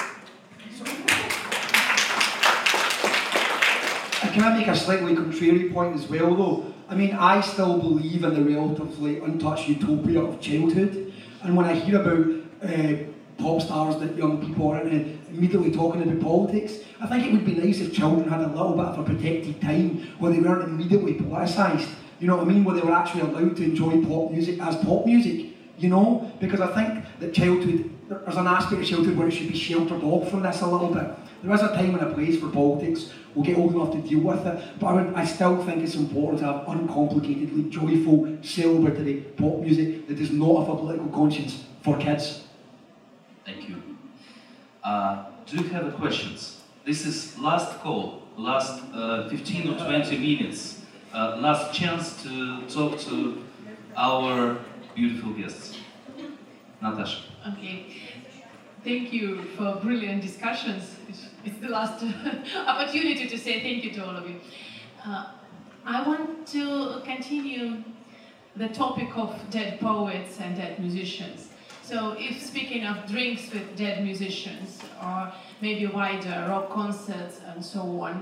make a slightly contrary point as well, though? I mean, I still believe in the relatively untouched utopia of childhood, and when I hear about pop stars that young people are immediately talking about politics, I think it would be nice if children had a little bit of a protected time where they weren't immediately politicised. You know what I mean? Where they were actually allowed to enjoy pop music as pop music. You know? Because I think that childhood, there's an aspect of childhood where it should be sheltered off from this a little bit. There is a time and a place for politics. We'll get old enough to deal with it, but I still think it's important to have uncomplicatedly joyful, celebratory pop music that does not have a political conscience for kids. Thank you. Do you have questions? This is last call, last 15 or 20 minutes, last chance to talk to our beautiful guests. Natasha. Okay. Thank you for brilliant discussions. It's the last opportunity to say thank you to all of you. I want to continue the topic of dead poets and dead musicians. So if speaking of drinks with dead musicians, or maybe wider rock concerts and so on,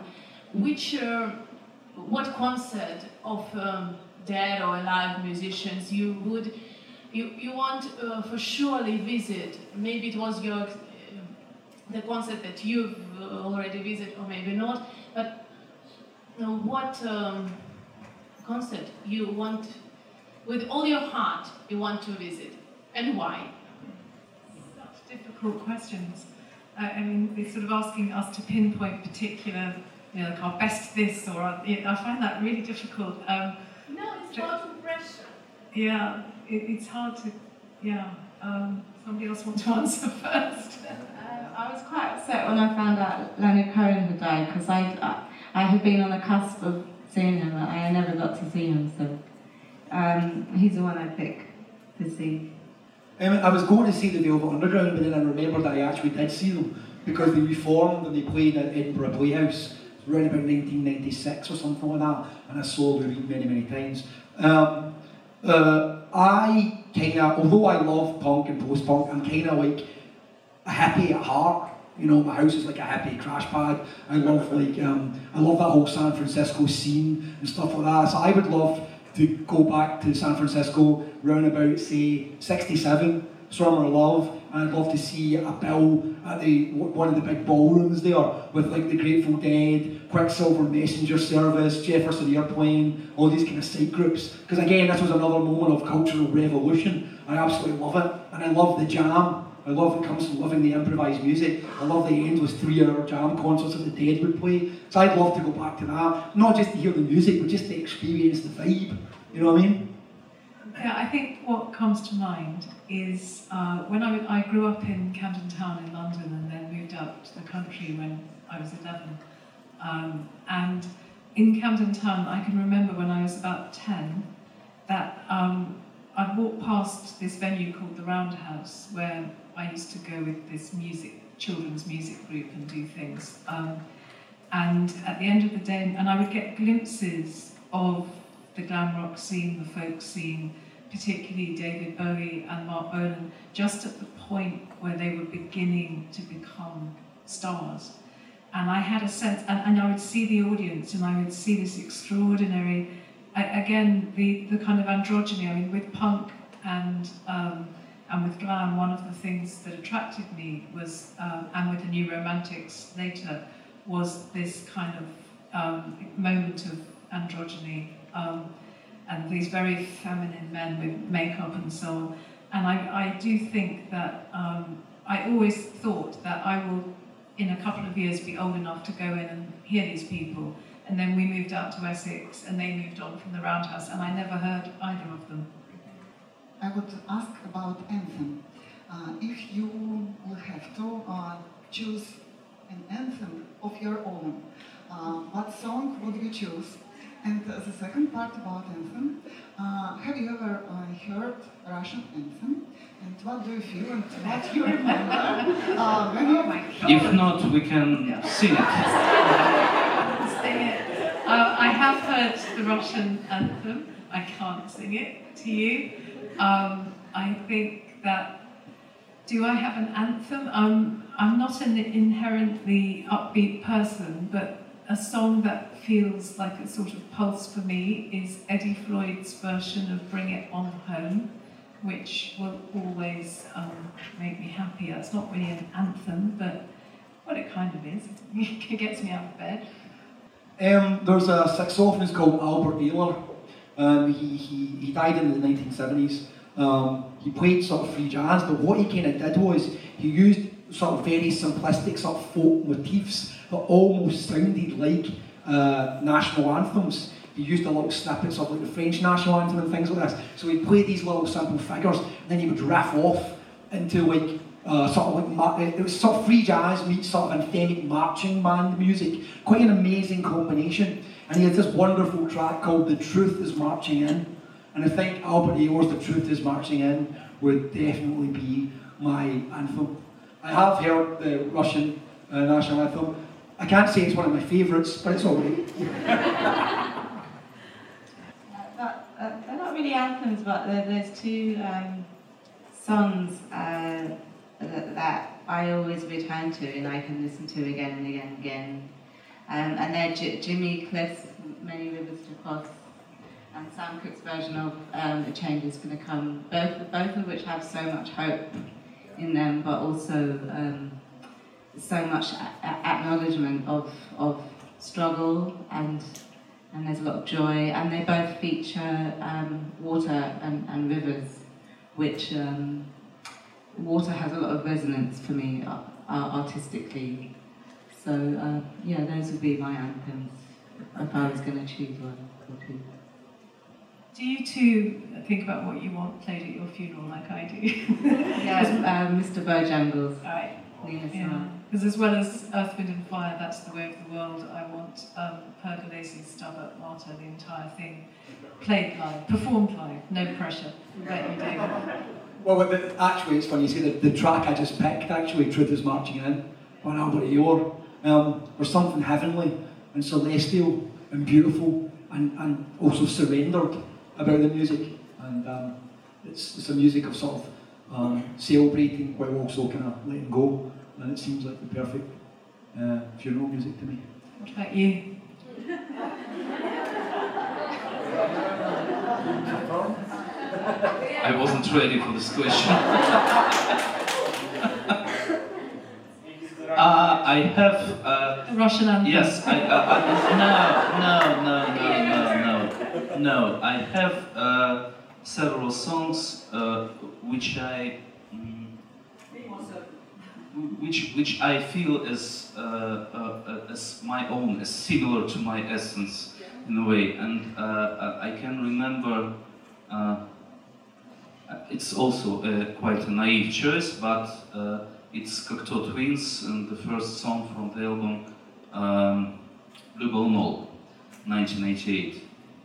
what concert of dead or alive musicians you want for surely visit? Maybe it was the concert that you've already visited, or maybe not, but what concert you want, with all your heart, you want to visit, and why? Such difficult questions. I mean, they're sort of asking us to pinpoint particular, you know, like our best this, or I find that really difficult. No, it's not pressure. Yeah, it's hard to, yeah. Somebody else want to answer first? I was quite upset when I found out Leonard Cohen had died, because I had been on the cusp of seeing him, and I never got to see him, so he's the one I pick to see. I was going to see the Velvet Underground, but then I remembered that I actually did see them, because they reformed and they played at Edinburgh Playhouse around about 1996 or something like that, and I saw Lou Reed many, many times. I kind of, although I love punk and post-punk, I'm kind of like a hippie at heart. You know, my house is like a hippie crash pad. I love I love that whole San Francisco scene and stuff like that. So I would love to go back to San Francisco round about, say, 67, Summer Love, and I'd love to see a bill at one of the big ballrooms there with like the Grateful Dead, Quicksilver Messenger Service, Jefferson Airplane, all these kind of side groups. Because again, this was another moment of cultural revolution. I absolutely love it, and I love the jam. I love it comes from loving the improvised music. I love the endless 3-hour jam concerts that the Dead would play. So I'd love to go back to that, not just to hear the music, but just to experience the vibe. You know what I mean? Yeah, I think what comes to mind is when I grew up in Camden Town in London and then moved out to the country when I was 11. And in Camden Town, I can remember when I was about 10 that I'd walk past this venue called the Roundhouse, where I used to go with this children's music group and do things. And at the end of the day, and I would get glimpses of the glam rock scene, the folk scene, particularly David Bowie and Mark Bolan, just at the point where they were beginning to become stars. And I had a sense, and I would see the audience, and I would see this extraordinary, again, the kind of androgyny. I mean, with punk and with glam, one of the things that attracted me was, and with the New Romantics later, was this kind of moment of androgyny, and these very feminine men with makeup and so on. And I do think that I always thought that I will, in a couple of years, be old enough to go in and hear these people. And then we moved out to Essex, and they moved on from the Roundhouse, and I never heard either of them. I would ask about anthem. If you will have to choose an anthem of your own, what song would you choose? And the second part about anthem, have you ever heard Russian anthem? And what do you feel and what you remember when you... If not, we can sing it. Sing it. I have heard the Russian anthem. I can't sing it to you. I think that, do I have an anthem? I'm not an inherently upbeat person, but a song that feels like a sort of pulse for me is Eddie Floyd's version of Bring It On Home, which will always make me happy. It's not really an anthem, but well, it kind of is. It gets me out of bed. There's a saxophonist called Albert Ayler. He died in the 1970s. He played sort of free jazz, but what he kind of did was he used sort of very simplistic sort of folk motifs that almost sounded like national anthems. He used a little snippets of like the French national anthem and things like this. So he played these little simple figures, and then he would riff off into like sort of like it was sort of free jazz meets sort of anthemic marching band music. Quite an amazing combination. And he had this wonderful track called "The Truth Is Marching In," and I think Albert Ayler's "The Truth Is Marching In" would definitely be my anthem. I have heard the Russian national anthem. I can't say it's one of my favourites, but it's alright. They're not really anthems, but there's two songs that I always return to and I can listen to again and again and again. And they're Jimmy Cliff's "Many Rivers to Cross" and Sam Cooke's version of "A Change Is Gonna Come," both of which have so much hope in them, but also so much acknowledgement of struggle, and there's a lot of joy, and they both feature water and rivers, which water has a lot of resonance for me artistically. So yeah, those would be my anthems if I was going to choose one or two. Do you two think about what you want played at your funeral like I do? Yeah, Mr. Bojangles. Right. Nina Yeah. Simone. Because as well as Earth, Wind and Fire, That's the Way of the World, I want Pergolesi's Stabat Mater, the entire thing, played live, performed live, no pressure. Bet you do. Well, actually, it's funny you say the track I just picked, actually, "Truth Is Marching In," by Albert Ayler. There's something heavenly and celestial and beautiful and also surrendered about the music. And it's a music of sort of celebrating while also kind of letting go. And it seems like the perfect funeral music to me. What about you? I wasn't ready for this question. I have. Russian anthem. Yes. No. I have several songs which I feel as my own, as similar to my essence in a way, and I can remember. It's also quite a naive choice, but it's Cocteau Twins and the first song from the album Le Beau Mot, 1988.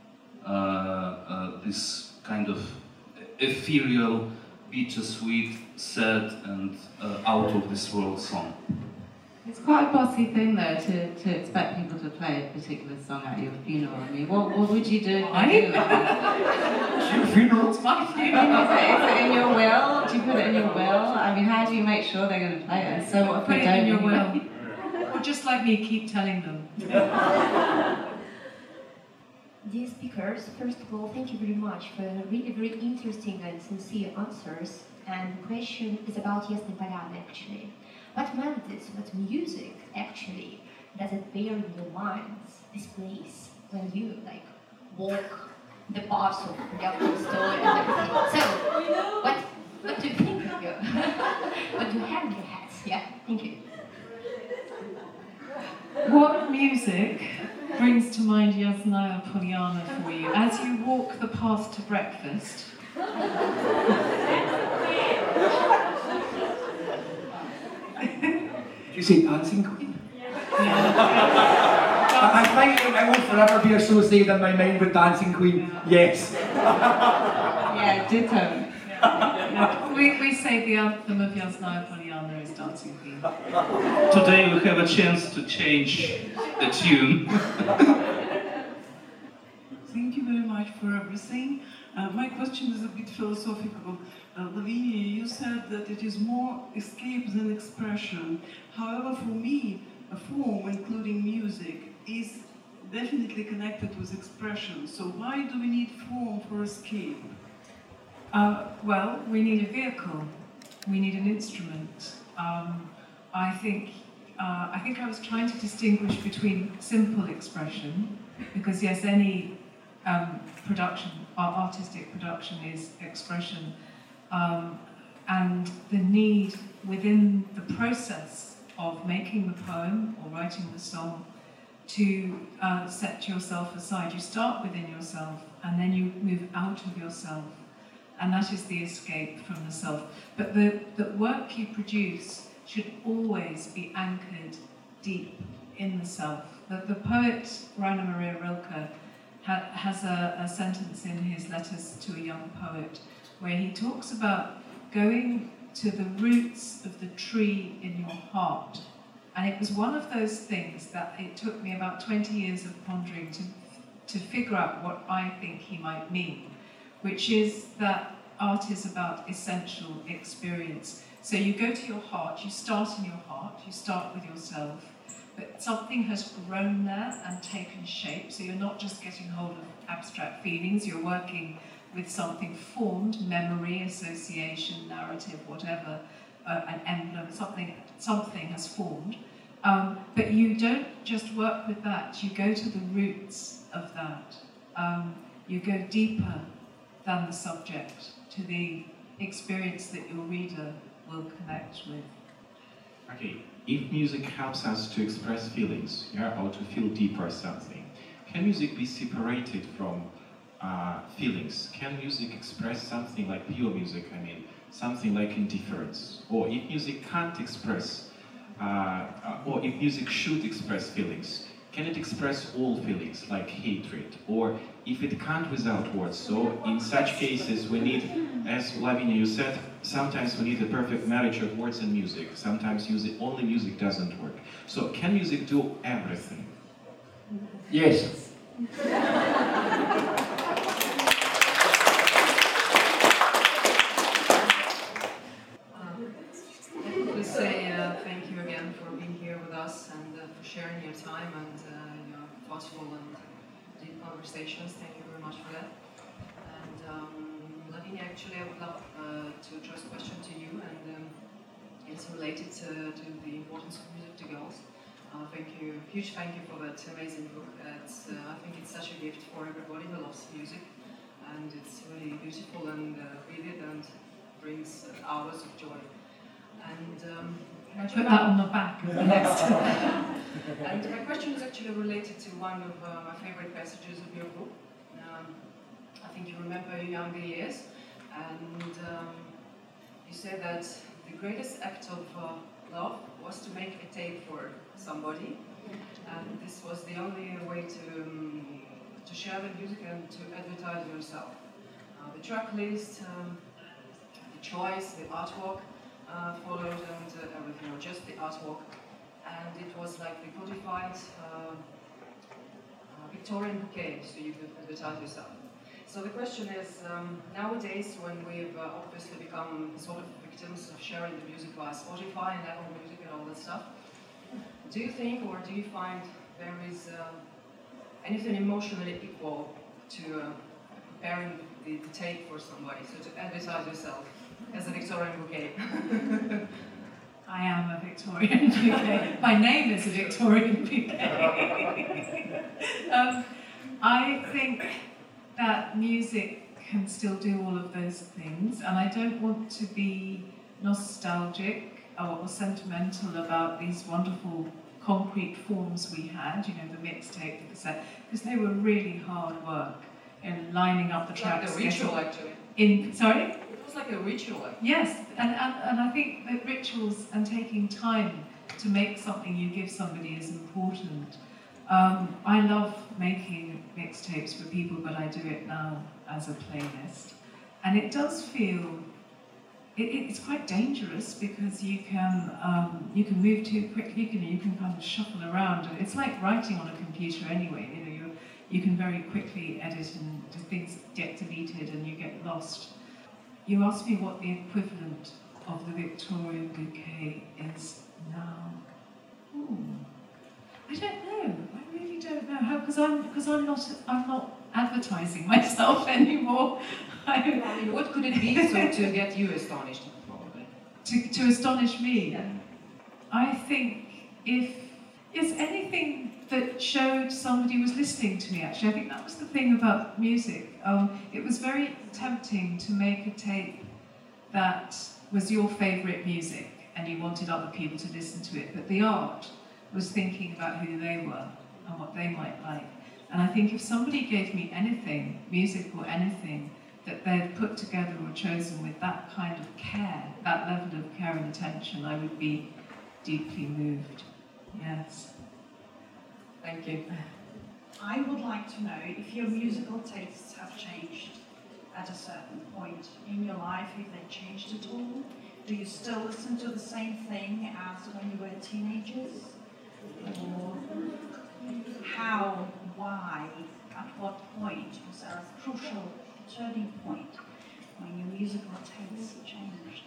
This kind of ethereal, bittersweet, sad and out of this world song. It's quite a bossy thing though to expect people to play a particular song at your funeral. I mean, what would you do? It's your funeral. It's my funeral. Is it in your will? Do you put it in your will? I mean, how do you make sure they're going to play it? And so what if Put they it don't? in your will. Or just like me, keep telling them. Dear speakers, first of all, thank you very much for really very interesting and sincere answers. And the question is about Yasny Polyana actually. What melodies, what music actually does it bear in your minds, this place, when you like walk the paths of Lev Tolstoy and everything? So, What do you think of you? What do you have in your heads? Yeah, thank you. What music brings to mind Yasnaya Polyana for you as you walk the path to breakfast? Did you say Dancing Queen? I think it will forever be associated in my mind with Dancing Queen. Yes. Yeah, ditto. We say the anthem of Yasnaya Polyana is Dancing Queen. Today we have a chance to change the tune. Thank you very much for everything. My question is a bit philosophical. Lavinia, you said that it is more escape than expression. However, for me, a form, including music, is definitely connected with expression. So why do we need form for escape? Well, we need a vehicle. We need an instrument. I think I was trying to distinguish between simple expression, because yes, any production, artistic production is expression, and the need within the process of making the poem or writing the song to set yourself aside. You start within yourself and then you move out of yourself, and that is the escape from the self. But the work you produce should always be anchored deep in the self. The poet Rainer Maria Rilke has a sentence in his Letters to a Young Poet where he talks about going to the roots of the tree in your heart. And it was one of those things that it took me about 20 years of pondering to figure out what I think he might mean, which is that art is about essential experience. So you go to your heart, you start in your heart, you start with yourself, but something has grown there and taken shape, so you're not just getting hold of abstract feelings, you're working with something formed, memory, association, narrative, whatever, an emblem, something has formed. But you don't just work with that, you go to the roots of that. You go deeper than the subject, to the experience that your reader will connect with. Okay, if music helps us to express feelings, yeah, or to feel deeper something, can music be separated from feelings? Can music express something like pure music, something like indifference? Or if music can't express, or if music should express feelings, can it express all feelings, like hatred? Or if it can't without words? So in such cases we need, as Lavinia, you said, sometimes we need a perfect marriage of words and music. Sometimes only music doesn't work. So can music do everything? Yes. We say thank you again for being here with us and for sharing your time and your thoughtful and deep conversations. Thank you very much for that. And Lavinia, actually, I would love to address a question to you, and it's related to the importance of music to girls. Thank you, huge thank you for that amazing book. I think it's such a gift for everybody who loves music, and it's really beautiful and vivid and brings hours of joy. And I put that on the back of the next. And my question is actually related to one of my favorite passages of your book. I think you remember your younger years, and you said that the greatest act of love was to make a tape for somebody, and this was the only way to share the music and to advertise yourself. The track list, the choice, the artwork followed, and everything, or just the artwork, and it was like the codified Victorian bouquet, so you could advertise yourself. So the question is, nowadays when we've obviously become sort of victims of sharing the music via Spotify and Apple Music and all that stuff, do you think, or do you find there is anything emotionally equal to preparing the tape for somebody, so to advertise yourself as a Victorian bouquet? I am a Victorian bouquet. My name is a Victorian bouquet. I think that music can still do all of those things, and I don't want to be nostalgic or sentimental about these wonderful concrete forms we had, you know, the mixtape, the cassette, because they were really hard work in lining up the tracks. Like a ritual, actually. Sorry? It was like a ritual. Yes, and I think that rituals and taking time to make something you give somebody is important. I love making mixtapes for people, but I do it now as a playlist. And it does feel, it's quite dangerous because you can move too quickly, you can kind of shuffle around. And it's like writing on a computer anyway, you know, you can very quickly edit and things get deleted and you get lost. You asked me what the equivalent of the Victorian bouquet is now. Ooh. I don't know. I really don't know how, because I'm not advertising myself anymore. I mean, what could it be to get you astonished, probably? To astonish me? Yeah. I think if it's anything that showed somebody was listening to me, actually. I think that was the thing about music. It was very tempting to make a tape that was your favourite music and you wanted other people to listen to it, but the art was thinking about who they were and what they might like. And I think if somebody gave me anything, music or anything, that they'd put together or chosen with that kind of care, that level of care and attention, I would be deeply moved. Yes. Thank you. I would like to know if your musical tastes have changed at a certain point in your life, if they changed at all. Do you still listen to the same thing as when you were teenagers? Or how, why, at what point was there a crucial turning point when your musical tastes changed?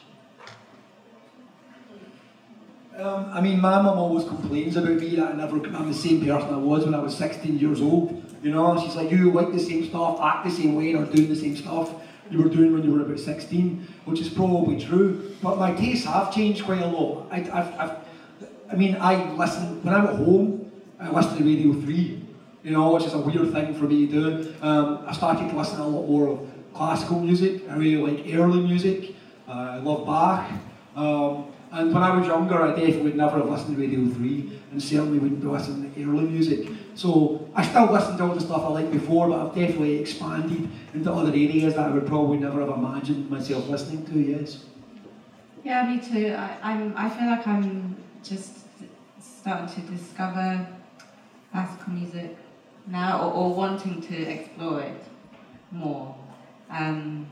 I mean, my mum always complains about me that I'm the same person I was when I was 16 years old. You know, she's like, you like the same stuff, act the same way, or doing the same stuff you were doing when you were about 16, which is probably true. But my tastes have changed quite a lot. I mean, I listen, when I'm at home, I listen to Radio 3, you know, which is a weird thing for me to do. I started to listen to a lot more of classical music. I really like early music. I love Bach. And when I was younger, I definitely would never have listened to Radio 3, and certainly wouldn't be listening to early music. So I still listen to all the stuff I liked before, but I've definitely expanded into other areas that I would probably never have imagined myself listening to, yes. Yeah, me too. I feel like I'm just starting to discover classical music now, or wanting to explore it more. And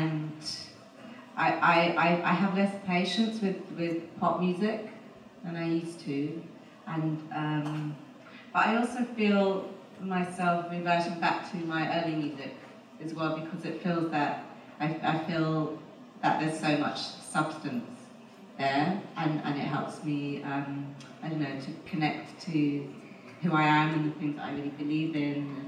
I have less patience with pop music than I used to, and but I also feel myself reverting back to my early music as well, because it feels that I feel that there's so much substance there, and it helps me I don't know, to connect to who I am and the things that I really believe in.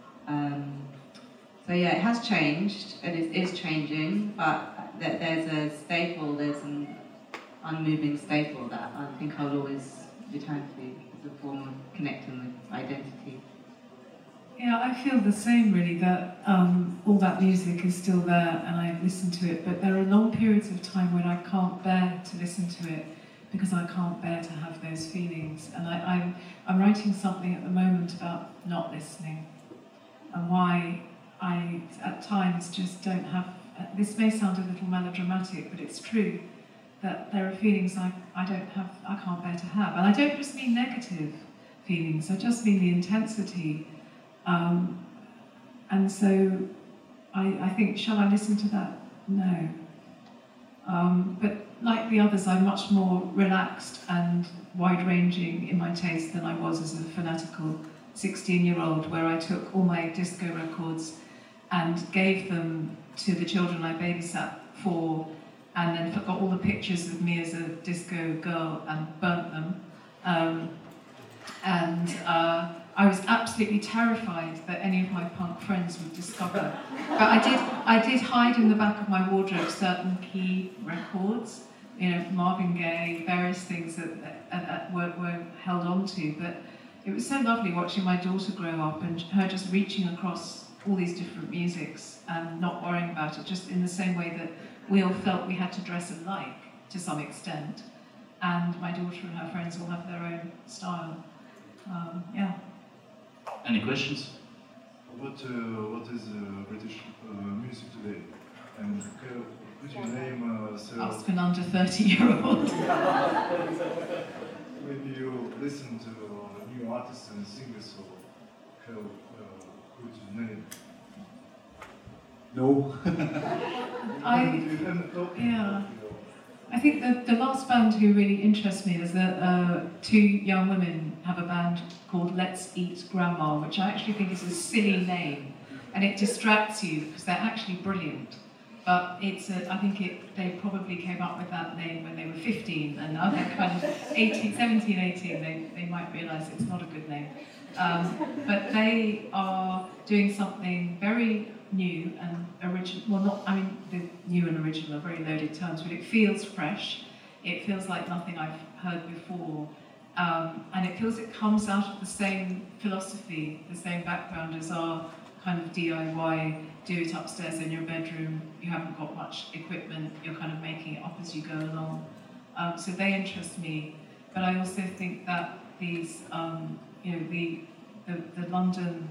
So yeah, it has changed, and it is changing, but there's a staple, there's an unmoving staple that I think I'll always return to as a form of connecting with identity. Yeah, I feel the same really, that all that music is still there and I listen to it, but there are long periods of time when I can't bear to listen to it because I can't bear to have those feelings. And I'm writing something at the moment about not listening and why I at times just don't have, this may sound a little melodramatic, but it's true, that there are feelings I can't bear to have. And I don't just mean negative feelings, I just mean the intensity. And so I think, shall I listen to that? No. But like the others, I'm much more relaxed and wide-ranging in my taste than I was as a fanatical 16-year-old, where I took all my disco records and gave them to the children I babysat for, and then got all the pictures of me as a disco girl and burnt them. I was absolutely terrified that any of my punk friends would discover. But I did hide in the back of my wardrobe certain key records, you know, Marvin Gaye, various things that were held on to. But it was so lovely watching my daughter grow up and her just reaching across all these different musics and not worrying about it, just in the same way that we all felt we had to dress alike to some extent. And my daughter and her friends all have their own style. Yeah. Any questions? What is British music today? And could you name Ask an under 30-year-old. Maybe you listen to new artists and singers, so could you name? No. Yeah. I think the last band who really interests me is that two young women have a band called Let's Eat Grandma, which I actually think is a silly name, and it distracts you because they're actually brilliant. But I think they probably came up with that name when they were 15, and now they're kind of 17, 18, they might realise it's not a good name. But they are doing something very new and original. Well, not, I mean, the new and original are very loaded terms, but it feels fresh. It feels like nothing I've heard before. And it feels it comes out of the same philosophy, the same background as our kind of DIY, do it upstairs in your bedroom, you haven't got much equipment, you're kind of making it up as you go along. So they interest me, but I also think that these, you know, the London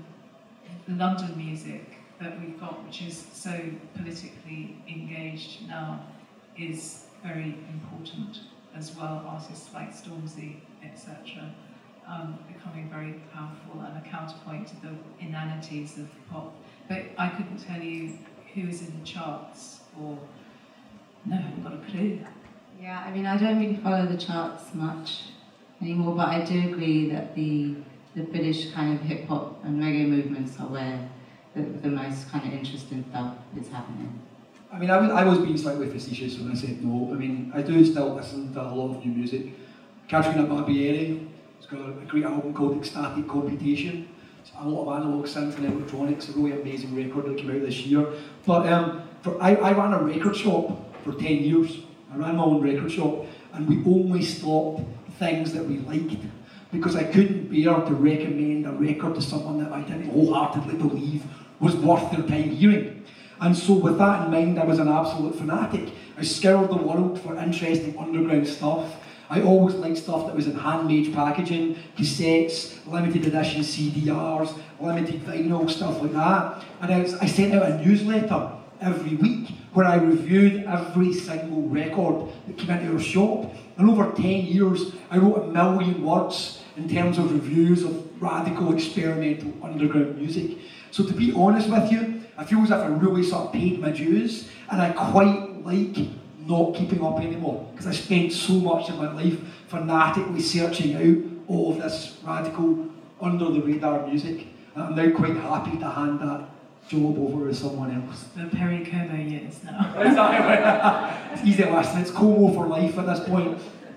music that we've got, which is so politically engaged now, is very important as well. Artists like Stormzy, etc., becoming very powerful and a counterpoint to the inanities of pop. But I couldn't tell you who is in the charts, or no, I haven't got a clue. Yeah, I mean, I don't really follow the charts much anymore, but I do agree that the British kind of hip hop and reggae movements are where the most kind of interesting stuff is happening. I mean, I was being slightly facetious when I said no. I mean, I do still listen to a lot of new music. Katrina Barbieri has got a great album called Ecstatic Computation. It's a lot of analog synth and electronics, a really amazing record that came out this year. But I ran a record shop for 10 years. I ran my own record shop, and we only stopped things that we liked, because I couldn't bear to recommend a record to someone that I didn't wholeheartedly believe was worth their time hearing. And so with that in mind, I was an absolute fanatic. I scoured the world for interesting underground stuff. I always liked stuff that was in handmade packaging, cassettes, limited edition CDRs, limited vinyl, stuff like that. And I sent out a newsletter every week where I reviewed every single record that came into our shop. And over 10 years, I wrote 1 million words in terms of reviews of radical, experimental, underground music. So to be honest with you, I feel as if I really sort of paid my dues, and I quite like not keeping up anymore, because I spent so much of my life fanatically searching out all of this radical, under-the-radar music, and I'm now quite happy to hand that job over to someone else. The Perry Como years now. It's easy to listen, it's Como for life at this point.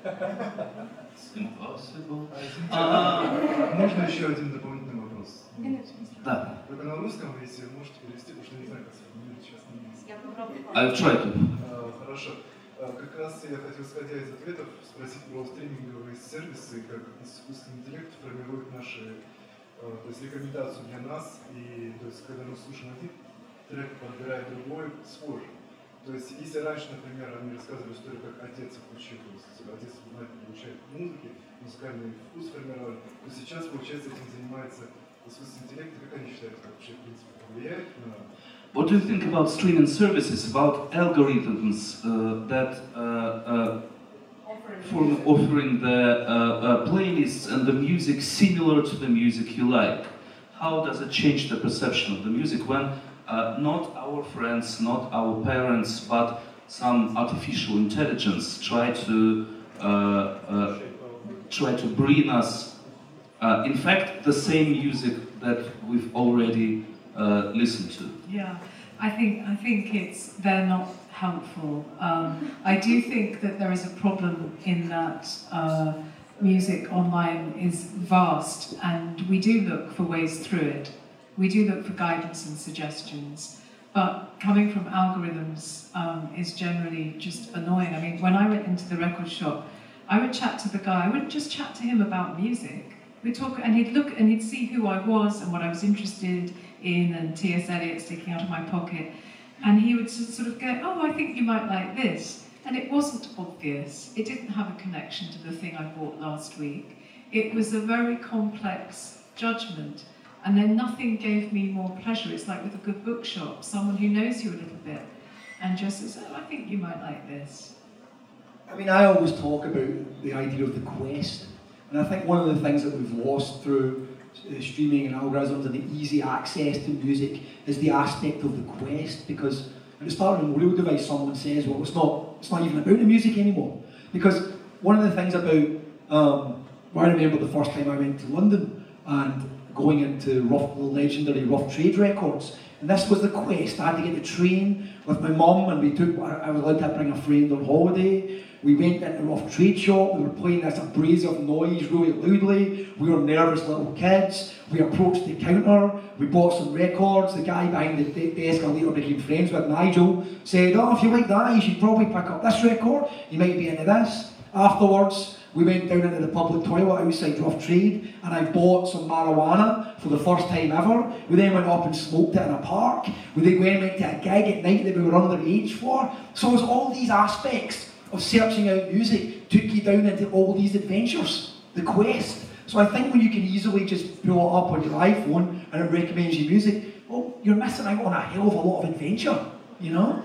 It's impossible. Можно еще один дополнительный вопрос? Да. Только на русском, если можете перевести, потому что не знаю, как сейчас на английском. Я попробую. I'll try to. Хорошо. Как раз я хотел, исходя из ответов, спросить про стриминговые сервисы, как искусственный интеллект формирует наши, то есть рекомендацию для нас, и то есть когда мы слушаем один трек, подбирает другой, схожий. То есть если раньше, например, они рассказывали историю, как отец учил, то есть отец получает музыки, музыкальный вкус формировали, то сейчас, получается, этим занимается искусственный интеллект. Как они считают, как вообще, в принципе, повлияет на... What do you think about streaming services, about algorithms that offering the playlists and the music similar to the music you like? How does it change the perception of the music when not our friends, not our parents, but some artificial intelligence try to bring us, in fact, the same music that we've already listened to? Yeah, I think they're not helpful. I do think that there is a problem in that music online is vast, and we do look for ways through it. We do look for guidance and suggestions, but coming from algorithms is generally just annoying. I mean, when I went into the record shop, I would chat to the guy. I wouldn't just chat to him about music. We'd talk, and he'd look and he'd see who I was and what I was interested in and T.S. Eliot sticking out of my pocket. And he would sort of go, oh, I think you might like this. And it wasn't obvious. It didn't have a connection to the thing I bought last week. It was a very complex judgment. And then nothing gave me more pleasure. It's like with a good bookshop, someone who knows you a little bit and just says, oh, I think you might like this. I mean, I always talk about the idea of the quest. And I think one of the things that we've lost through streaming and algorithms and the easy access to music is the aspect of the quest, because at the start of a real device someone says, well, it's not even about the music anymore. Because one of the things about, I remember the first time I went to London and going into the legendary Rough Trade Records, and this was the quest. I had to get the train with my mum, and I was allowed to bring a friend on holiday. We went into a Rough Trade shop, we were playing this abrasive noise really loudly, we were nervous little kids, we approached the counter, we bought some records, the guy behind the desk I later became friends with, Nigel, said, oh, if you like that, you should probably pick up this record, you might be into this. Afterwards, we went down into the public toilet outside Rough Trade and I bought some marijuana for the first time ever. We then went up and smoked it in a park. We then went to a gig at night that we were underage for. So it was all these aspects of searching out music took you down into all these adventures, the quest. So I think when you can easily just pull it up on your iPhone and it recommends you music, well, you're missing out on a hell of a lot of adventure, you know?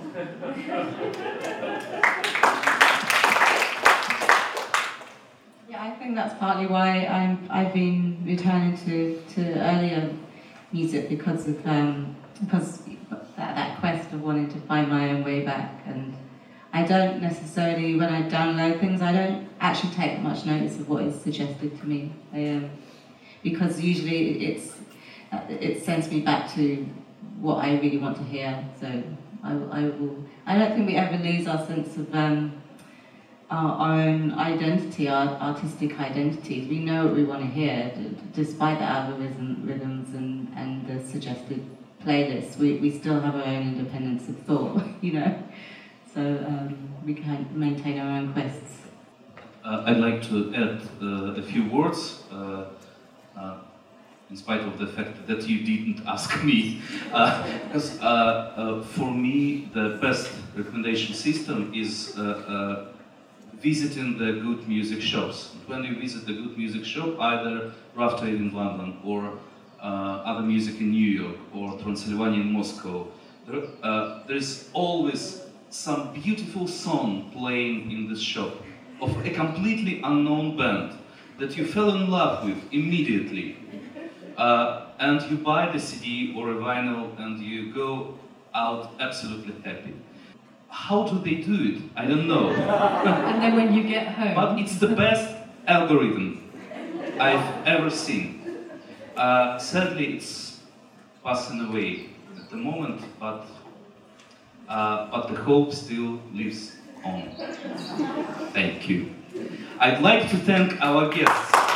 Yeah, I think that's partly why I've been returning to earlier music because of that quest of wanting to find my own way back. And I don't necessarily, when I download things, I don't actually take much notice of what is suggested to me, because usually it sends me back to what I really want to hear. So I don't think we ever lose our sense of our own identity, our artistic identities. We know what we want to hear, despite the algorithms and the suggested playlists. We still have our own independence of thought, you know. So we can maintain our own quests. I'd like to add a few words, in spite of the fact that you didn't ask me. Because for me, the best recommendation system is visiting the good music shops. When you visit the good music shop, either Rough Trade in London or Other Music in New York or Transylvania in Moscow, there's always some beautiful song playing in this shop of a completely unknown band that you fell in love with immediately. And you buy the CD or a vinyl and you go out absolutely happy. How do they do it? I don't know. And then when you get home... But it's the best algorithm I've ever seen. Sadly, it's passing away at the moment, but the hope still lives on. Thank you. I'd like to thank our guests.